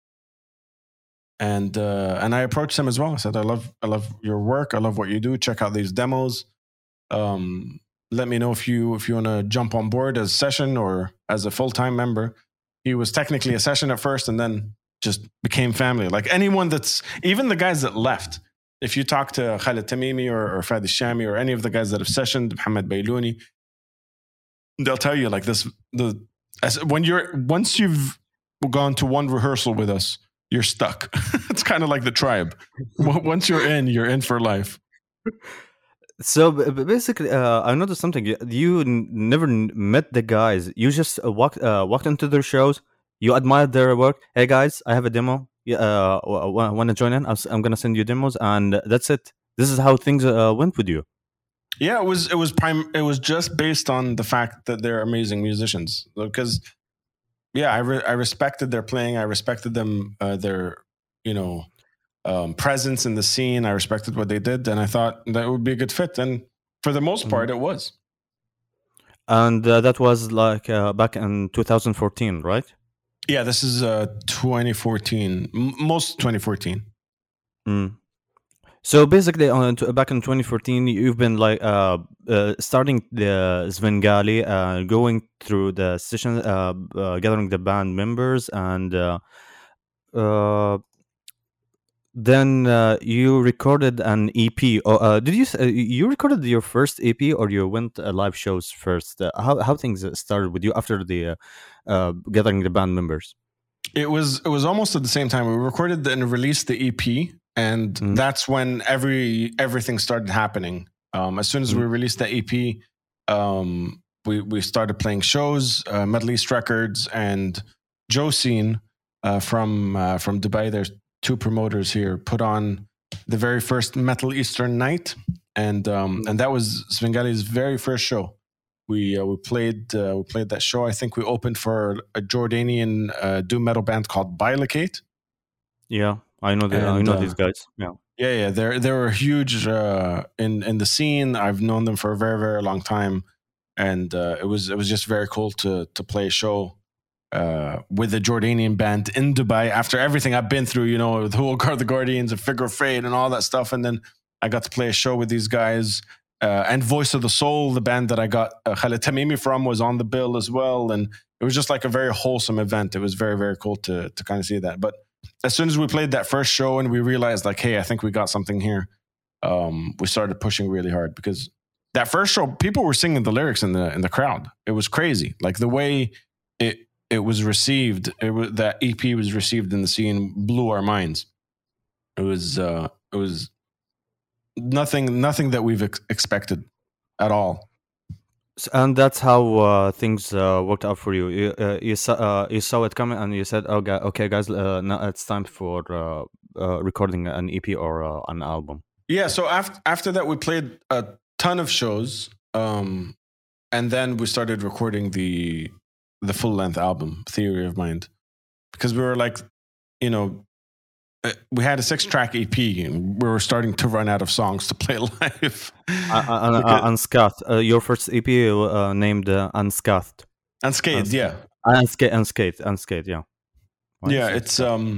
And I approached him as well. I said, I love your work. I love what you do. Check out these demos. Let me know if you want to jump on board as session or as a full-time member. He was technically a session at first, and then just became family. Like anyone even the guys that left, if you talk to Khaled Tamimi or Fadi Shami or any of the guys that have sessioned, Mohammed Baylouni, they'll tell you like this: once you've gone to one rehearsal with us, you're stuck. It's kind of like the tribe. Once you're in for life. So basically, I noticed something. You never met the guys. You just walked into their shows. You admired their work. Hey guys, I have a demo. Want to join in? I'm gonna send you demos, and that's it. This is how things went with you. Yeah, it was just based on the fact that they're amazing musicians. Because I respected their playing. I respected them, their presence in the scene. I respected what they did, and I thought that would be a good fit. And for the most part, it was. And that was like back in 2014, right? Yeah, this is 2014, most 2014. So basically, back in 2014, you've been like starting the Svengali, going through the session, gathering the band members, and then you recorded an EP. Did you recorded your first EP, or you went live shows first? How things started with you after the gathering the band members? It was almost at the same time. We recorded and released the EP, and that's when everything started happening. As soon as we released the EP, we started playing shows. Middle East Records and Josine from Dubai. There's two promoters here, put on the very first Metal Eastern night, and that was Svengali's very first show. We played that show. I think we opened for a Jordanian doom metal band called Bilocate. Yeah, I know I know these guys. Yeah. They were huge in the scene. I've known them for a very, very long time, and it was just very cool to play a show with a Jordanian band in Dubai after everything I've been through. The whole the Guardians and Figure of Fate and all that stuff, and then I got to play a show with these guys. And Voice of the Soul, the band that I got Khaled Tamimi from, was on the bill as well. And it was just like a very wholesome event. It was very, very cool to kind of see that. But as soon as we played that first show and we realized like, hey, I think we got something here, we started pushing really hard, because that first show, people were singing the lyrics in the crowd. It was crazy. Like the way it was received, that EP was received in the scene blew our minds. It was nothing that we've expected at all. And that's how things worked out for you. You saw it coming, and you said, okay guys, now it's time for recording an EP or an album. Yeah, so after that we played a ton of shows, and then we started recording the full-length album, Theory of Mind, because we were like, we had a 6-track EP, and we were starting to run out of songs to play live. Unscathed. Your first EP named Unscathed. Unscathed, yeah. Unscathed, yeah. Yeah, it's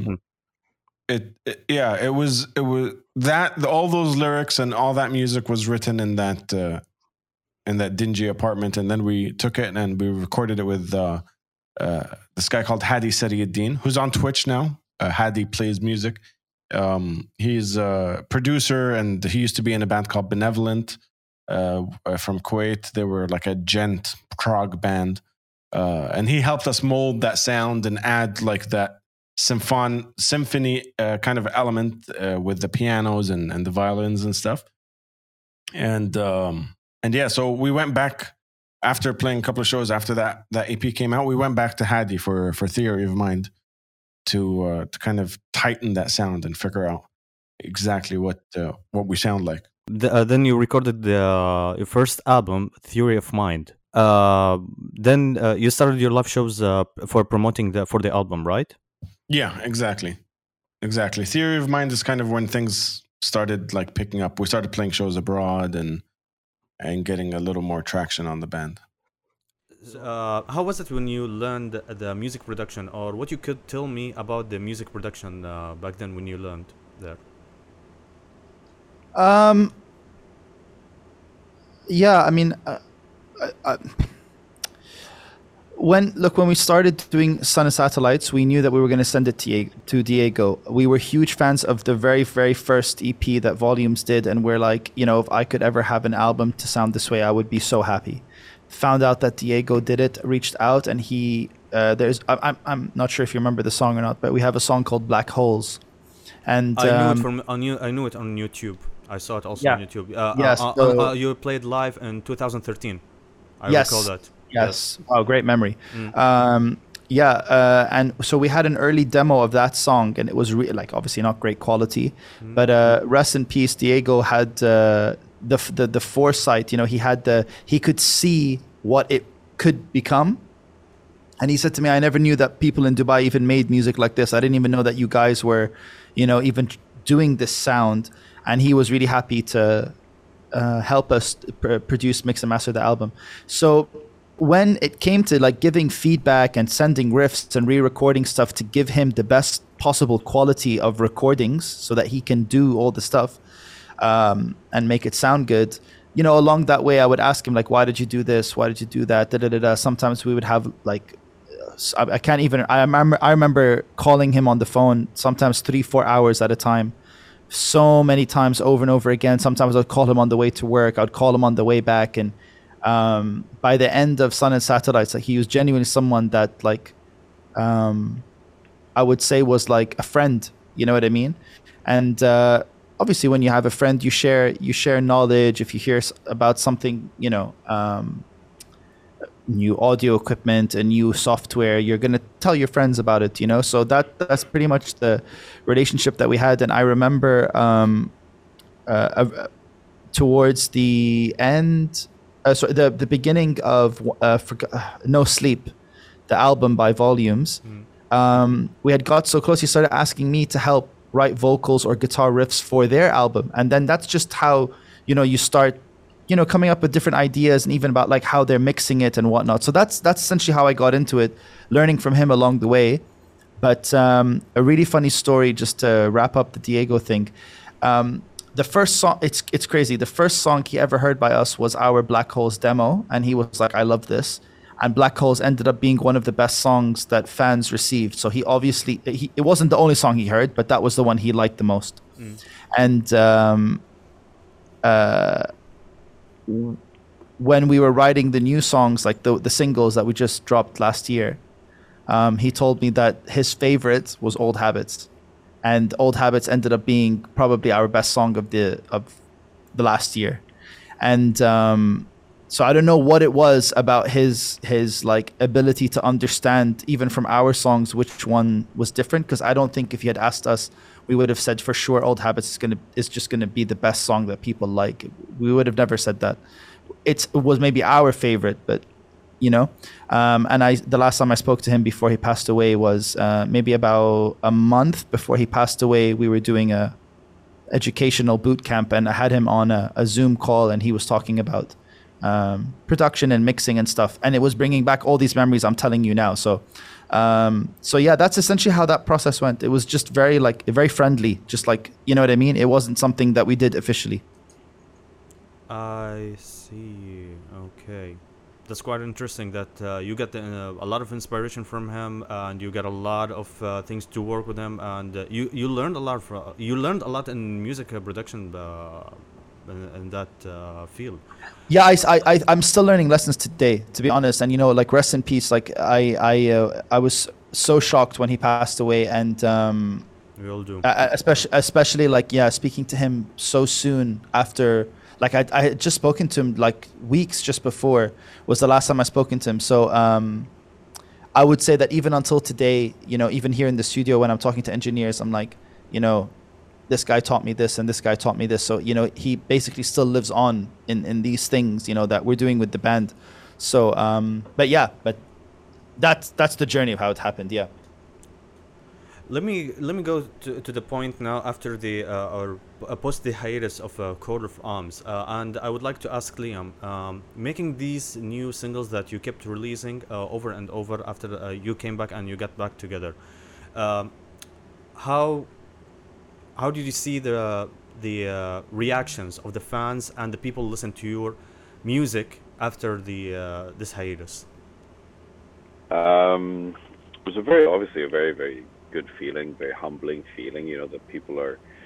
it was that all those lyrics and all that music was written in that dingy apartment, and then we took it and we recorded it with this guy called Hadi Sariuddin, who's on Twitch now. Hadi plays music. He's a producer, and he used to be in a band called Benevolent from Kuwait. They were like a gent prog band, and he helped us mold that sound and add like that symphony kind of element with the pianos and the violins and stuff. And yeah, so we went back after playing a couple of shows. After that EP came out, we went back to Hadi for Theory of Mind to kind of tighten that sound and figure out exactly what we sound like. Then you recorded your first album, Theory of Mind. Then you started your live shows for promoting for the album, right? Yeah, exactly. Theory of Mind is kind of when things started like picking up. We started playing shows abroad and getting a little more traction on the band. How was it when you learned the music production, or what you could tell me about the music production back then when you learned there? Yeah, I mean, when we started doing Sun and Satellites, we knew that we were going to send it to Diego. We were huge fans of the very, very first EP that Volumes did, and we're like, you know, if I could ever have an album to sound this way, I would be so happy. Found out that Diego did it, reached out, and he I'm not sure if you remember the song or not, but we have a song called Black Holes, and I knew it on YouTube. I saw it also on YouTube. Yes, you played live in 2013. I yes, recall that. Yes. Oh, great memory. And so we had an early demo of that song, and it was like obviously not great quality, but rest in peace. Diego had the foresight. You know, he could see what it could become. And he said to me, I never knew that people in Dubai even made music like this. I didn't even know that you guys were, you know, even doing this sound. And he was really happy to help us produce, mix, and master the album. So when it came to like giving feedback and sending riffs and re-recording stuff to give him the best possible quality of recordings so that he can do all the stuff and make it sound good, you know, along that way, I would ask him like, why did you do this? Why did you do that? Sometimes we would have like, I remember calling him on the phone, sometimes 3-4 hours at a time, so many times over and over again. Sometimes I'd call him on the way to work. I'd call him on the way back. And by the end of Sun and Satellites, like, he was genuinely someone that like, I would say was like a friend, you know what I mean? And obviously when you have a friend, you share knowledge. If you hear about something, you know, new audio equipment and new software, you're going to tell your friends about it, you know? So that's pretty much the relationship that we had. And I remember towards the end, the beginning of No Sleep, the album by Volumes, we had got so close, he started asking me to help write vocals or guitar riffs for their album. And then that's just how, you know, you start, you know, coming up with different ideas and even about like how they're mixing it and whatnot. So that's essentially how I got into it, learning from him along the way. But a really funny story just to wrap up the Diego thing. The first song, it's crazy. The first song he ever heard by us was our Black Holes demo. And he was like, I love this. And Black Holes ended up being one of the best songs that fans received. So he obviously, it wasn't the only song he heard, but that was the one he liked the most. And when we were writing the new songs, like the singles that we just dropped last year, he told me that his favorite was Old Habits. And Old Habits ended up being probably our best song of the last year. And so I don't know what it was about his like ability to understand even from our songs which one was different, because I don't think if he had asked us, we would have said for sure Old Habits is just gonna be the best song that people like. We would have never said that. It was maybe our favorite, but you know. And the last time I spoke to him before he passed away was maybe about a month before he passed away. We were doing a educational boot camp, and I had him on a Zoom call, and he was talking about production and mixing and stuff, and it was bringing back all these memories I'm telling you now. So yeah, that's essentially how that process went. It was just very friendly, just like, you know what I mean? It wasn't something that we did officially. I see. Okay. That's quite interesting that you get a lot of inspiration from him, and you get a lot of things to work with him, and you learned a lot you learned a lot in music production in that field. Yeah, I'm still learning lessons today, to be honest. And you know, like, rest in peace. Like I was so shocked when he passed away, and we all do. Especially like, yeah, speaking to him so soon after. Like I had just spoken to him like weeks just before was the last time I spoken to him. So I would say that even until today, you know, even here in the studio when I'm talking to engineers, I'm like, you know, this guy taught me this and this guy taught me this. So, you know, he basically still lives on in these things, you know, that we're doing with the band. So, but that's the journey of how it happened. Yeah. Let me go to the point now after the or post the hiatus of Coat of Arms, and I would like to ask Liam, making these new singles that you kept releasing over and over after you came back and you got back together, how did you see the reactions of the fans and the people listen to your music after the this hiatus? It was a very, obviously a very, very good feeling, very humbling feeling. You know, that people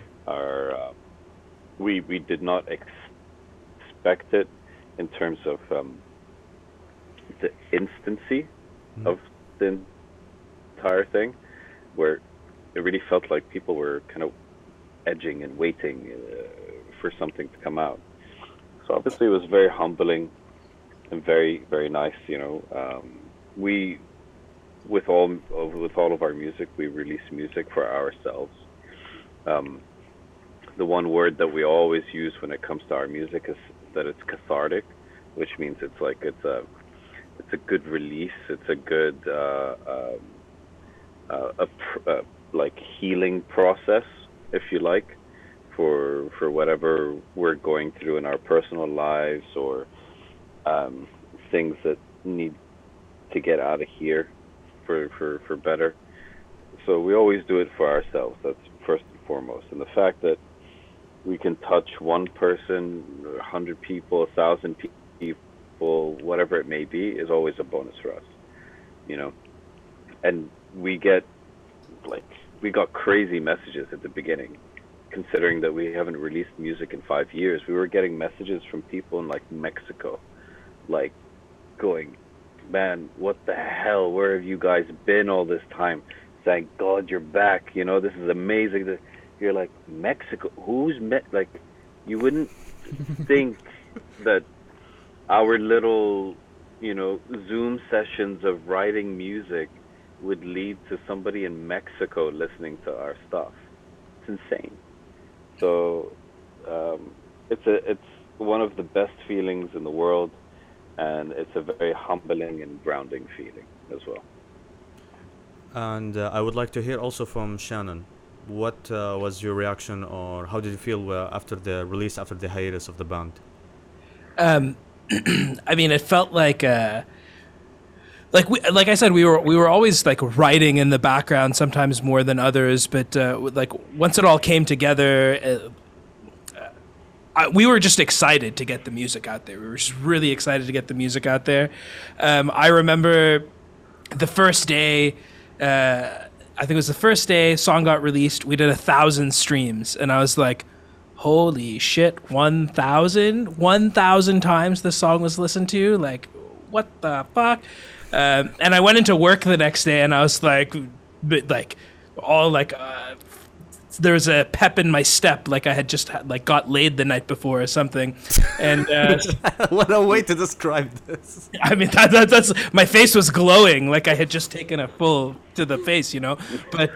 we did not expect it in terms of the instancy of the entire thing, where it really felt like people were kind of edging and waiting for something to come out. So obviously it was very humbling and very, very nice. You know, we with all of our music, we release music for ourselves. The one word that we always use when it comes to our music is that it's cathartic, which means it's a good release. It's a good like healing process, if you like, for whatever we're going through in our personal lives, or things that need to get out of here for better. So we always do it for ourselves. That's first and foremost. And the fact that we can touch one person, 100 people, 1,000 people, whatever it may be, is always a bonus for us, you know. And we got crazy messages at the beginning, considering that we haven't released music in 5 years. We were getting messages from people in like Mexico, like going, man, what the hell, where have you guys been all this time? Thank God you're back, you know, this is amazing. You're like, Mexico, like, you wouldn't think that our little, you know, Zoom sessions of writing music would lead to somebody in Mexico listening to our stuff. It's insane. So it's one of the best feelings in the world, and it's a very humbling and grounding feeling as well. And I would like to hear also from Shannon. What was your reaction, or how did you feel after the release, after the hiatus of the band? I mean, it felt like I said, we were always like writing in the background, sometimes more than others. But like once it all came together, we were just excited to get the music out there. We were just really excited to get the music out there. I remember the first day. I think it was the first day song got released. We did 1,000 streams, and I was like, holy shit, 1,000 times the song was listened to. Like, what the fuck? And I went into work the next day, and I was like all like there was a pep in my step, like I had just got laid the night before or something. And what a way to describe this. I mean, that's my face was glowing, like I had just taken a full to the face, you know. But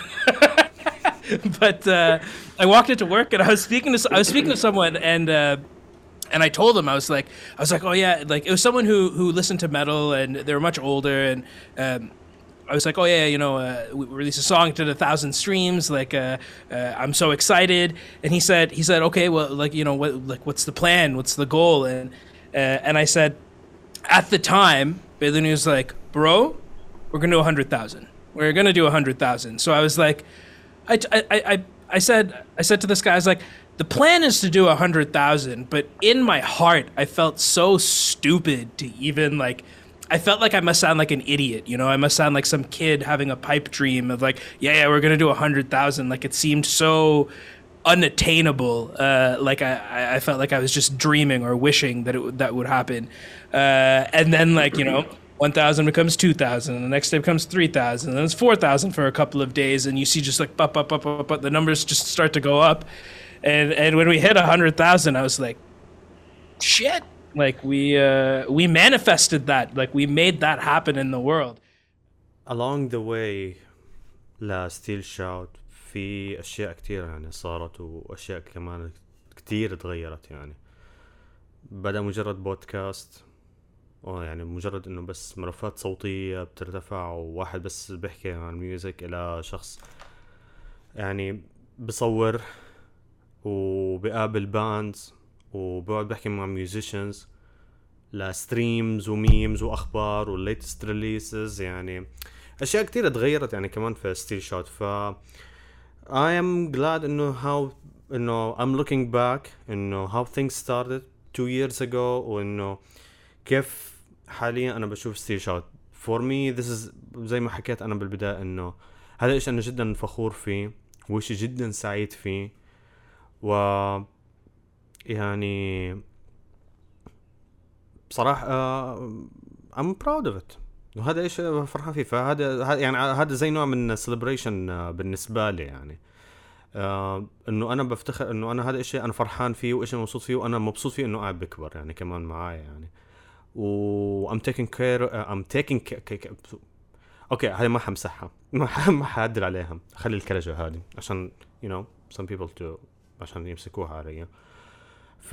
I walked into work, and I was speaking to someone, and I told him, I was like, oh yeah, like it was someone who listened to metal, and they were much older, and I was like, oh yeah, you know, we released a song, did 1,000 streams, like I'm so excited. And he said, okay, well, like, you know, what's the plan? What's the goal? And I said, at the time, Bailey was like, bro, we're gonna do 100,000. We're gonna do 100,000. So I was like, I said to this guy, I was like, the plan is to do 100,000, but in my heart, I felt so stupid to even like. I felt like I must sound like an idiot, you know. I must sound like some kid having a pipe dream of like, yeah, we're gonna do 100,000. Like it seemed so unattainable. Like I felt like I was just dreaming or wishing that would happen. And then like, you know, 1,000 becomes 2,000, and the next day becomes 3,000, and it's 4,000 for a couple of days, and you see just like but the numbers just start to go up. And when we hit 100,000, I was like, shit. Like we manifested that, like we made that happen in the world. Along the way لستيل شاوت في أشياء كتير يعني صارت، وأشياء كمان كتير تغيرت. يعني بدأ مجرد بودكاست، يعني مجرد إنه بس ملفات صوتية بترتفع وواحد بس بيحكي عن الميوزك، إلى شخص يعني بصور وبقابل باندز وبقعد بحكي مع ميوزيشنز، لستريمز وميمز واخبار والليتست ريليسز. يعني اشياء كتير تغيرت يعني كمان في ستيل شوت. ف I am glad انه I'm looking back انه how things started 2 years ago، وانه كيف حاليا انا بشوف ستيل شوت for me this is زي ما حكيت أنا بالبداية إنه هذا إيش أنا جدا فخور فيه وإشي جدا سعيد فيه و يعني بصراحة I'm proud of it وهذا إيش فرحان فيه. فهذا يعني هذا زي نوع من celebration بالنسبة لي يعني إنه أنا بفتخر إنه أنا هذا إشي أنا فرحان فيه وإشي مبسوط فيه وأنا مبسوط فيه إنه قاعد بكبر يعني كمان معايا يعني و I'm taking care أوكي هاي ما حمسحها ما حعدل عليها خلي الكرجة هذه عشان you know some people to عشان يمسكوها علي. ف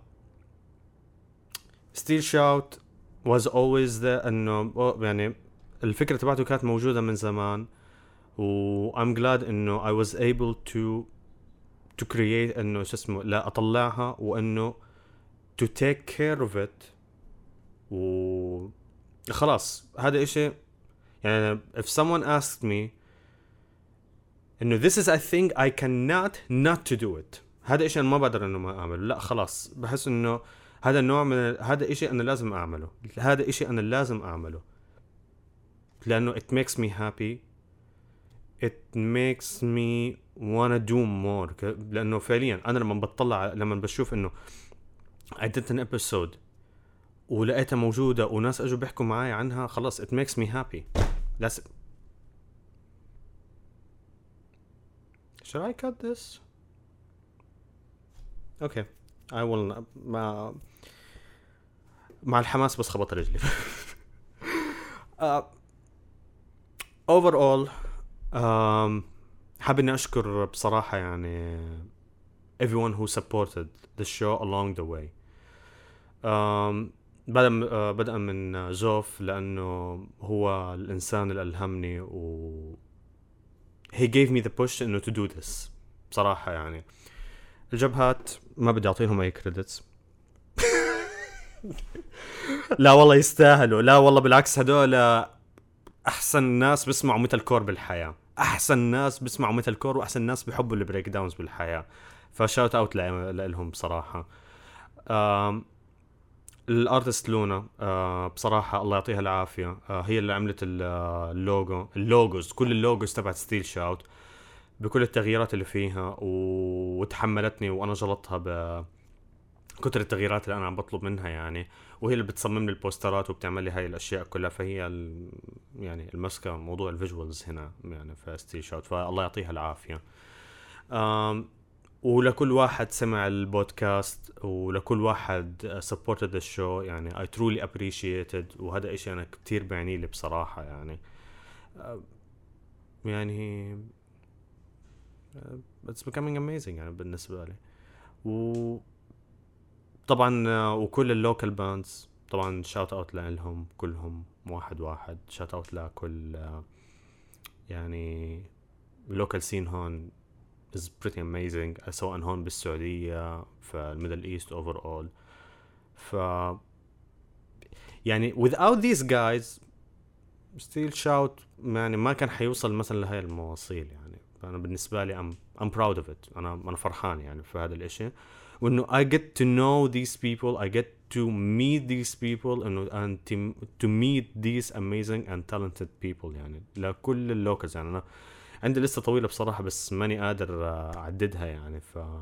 Steel Shout was always there إنه يعني الفكرة تبعته كانت موجودة من زمان و I'm glad إنه I was able to create إنه شو اسمه لا أطلعها وإنه to take care of it و خلاص هذا إشي يعني if someone asked me إنه this is a thing I cannot not to do it هذا إشي أنا ما بقدر إنه ما أعمله لا خلاص بحس إنه هذا النوع من هذا إشي أنا لازم أعمله هذا إشي أنا لازم أعمله لأنه it makes me happy it makes me wanna do more لأنه فعليا أنا لما بشوف إنه I did an episode ولقيتها موجودة وناس أجوا بيحكوا معاي عنها خلاص it makes me happy. That's it. Should I cut this? Okay I will مع الحماس بس خبط رجلي. overall حابب إني أشكر بصراحة يعني everyone who supported the show along the way. بدأ من زوف لأنه هو الإنسان اللي ألهمني و he gave me the push إنه to do this بصراحة يعني. الجبهات ما بدي أعطيهم أي credits. لا والله يستاهلوا لا والله بالعكس هدول أحسن ناس بيسمعوا ميتال كور بالحياة أحسن ناس بيسمعوا ميتال كور وأحسن ناس بيحبوا البريك داونز بالحياة فشاوت أوت لهم بصراحة. الارتست لونا بصراحة الله يعطيها العافية هي اللي عملت اللوجوز كل اللوجوز تبعت ستيل شاوت بكل التغييرات اللي فيها وتحملتني وانا جلطها بكتر التغييرات اللي انا عم بطلب منها يعني وهي اللي بتصمم لي البوسترات وبتعمل لي هاي الاشياء كلها فهي يعني المسكة موضوع الفيجوالز هنا يعني في ستيل شاوت فالله يعطيها العافية. ولكل واحد سمع البودكاست ولكل واحد supported the show يعني I truly appreciated وهذا إشي أنا كتير بعني لي بصراحة يعني يعني it's becoming amazing يعني بالنسبة لي. وطبعا وكل اللوكال باندز طبعا shout out لهم كلهم واحد shout out لكل يعني local scene هون is pretty amazing سواء هون بالسعودية في الميدل ايست overall. ف يعني without these guys Steel Shout يعني ما كان حيوصل مثلا لهاي المواصيل يعني. فأنا بالنسبة لي I'm proud of it أنا فرحان يعني في هذا الاشي وإنه I get to know these people I get to meet these people and to meet these amazing and talented people يعني لكل اللوكلز يعني أنا عندي لسه طويلة بصراحة بس ماني قادر أعددها يعني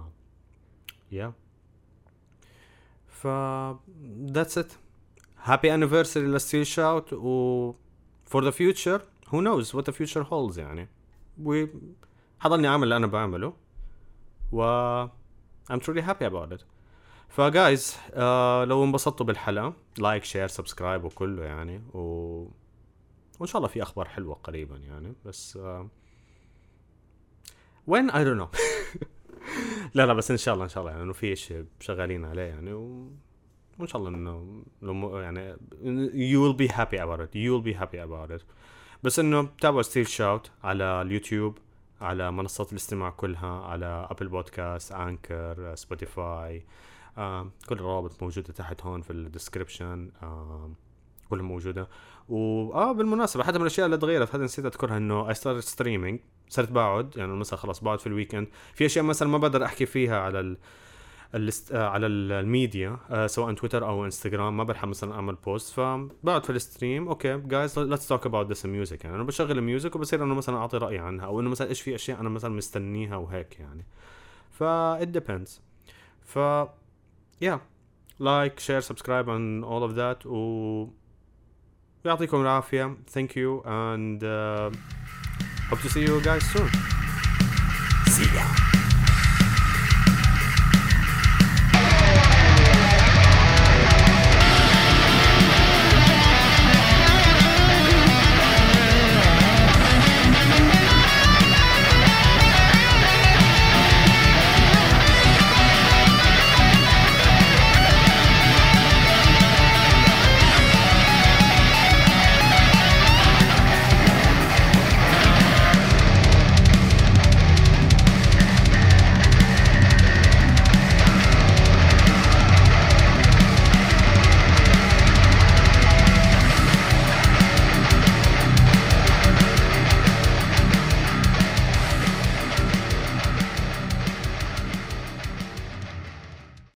that's it. happy anniversary لستيل شاوت و for the future who knows what the future holds يعني وحضلني عمل اللي أنا بعمله و I'm truly happy about it. فجايز لو انبسطتوا بالحلقة لايك شير سبسكرايب وكله يعني وإن شاء الله في أخبار حلوة قريبا يعني بس when I don't know. لا بس إن شاء الله يعني إنه في شيء شغالين عليه يعني وإن شاء الله إنه يعني you will be happy about it بس إنه تابعوا ستيل شاوت على اليوتيوب على منصات الاستماع كلها على أبل بودكاست أنكر سبوتيفاي كل الروابط موجودة تحت هون في الديسكريبشن كلها موجودة. بالمناسبة حتى من الأشياء اللي تغيرت هذا نسيت أذكرها إنه I started streaming صرت بقعد يعني مثلا خلاص بقعد في الويكند في أشياء مثلا ما بقدر أحكي فيها على الميديا سواء تويتر او انستغرام ما بلحق مثلا اعمل بوست فبقعد في الستريم اوكي جايز ليتس توك اباوت ذس ميوزك يعني انا بشغل الميوزك وبصير انه مثلا اعطي رايي عنها او انه مثلا ايش في اشياء انا مثلا مستنيها وهيك يعني it depends yeah like share subscribe and all of that يعطيكم العافية thank you and hope to see you guys soon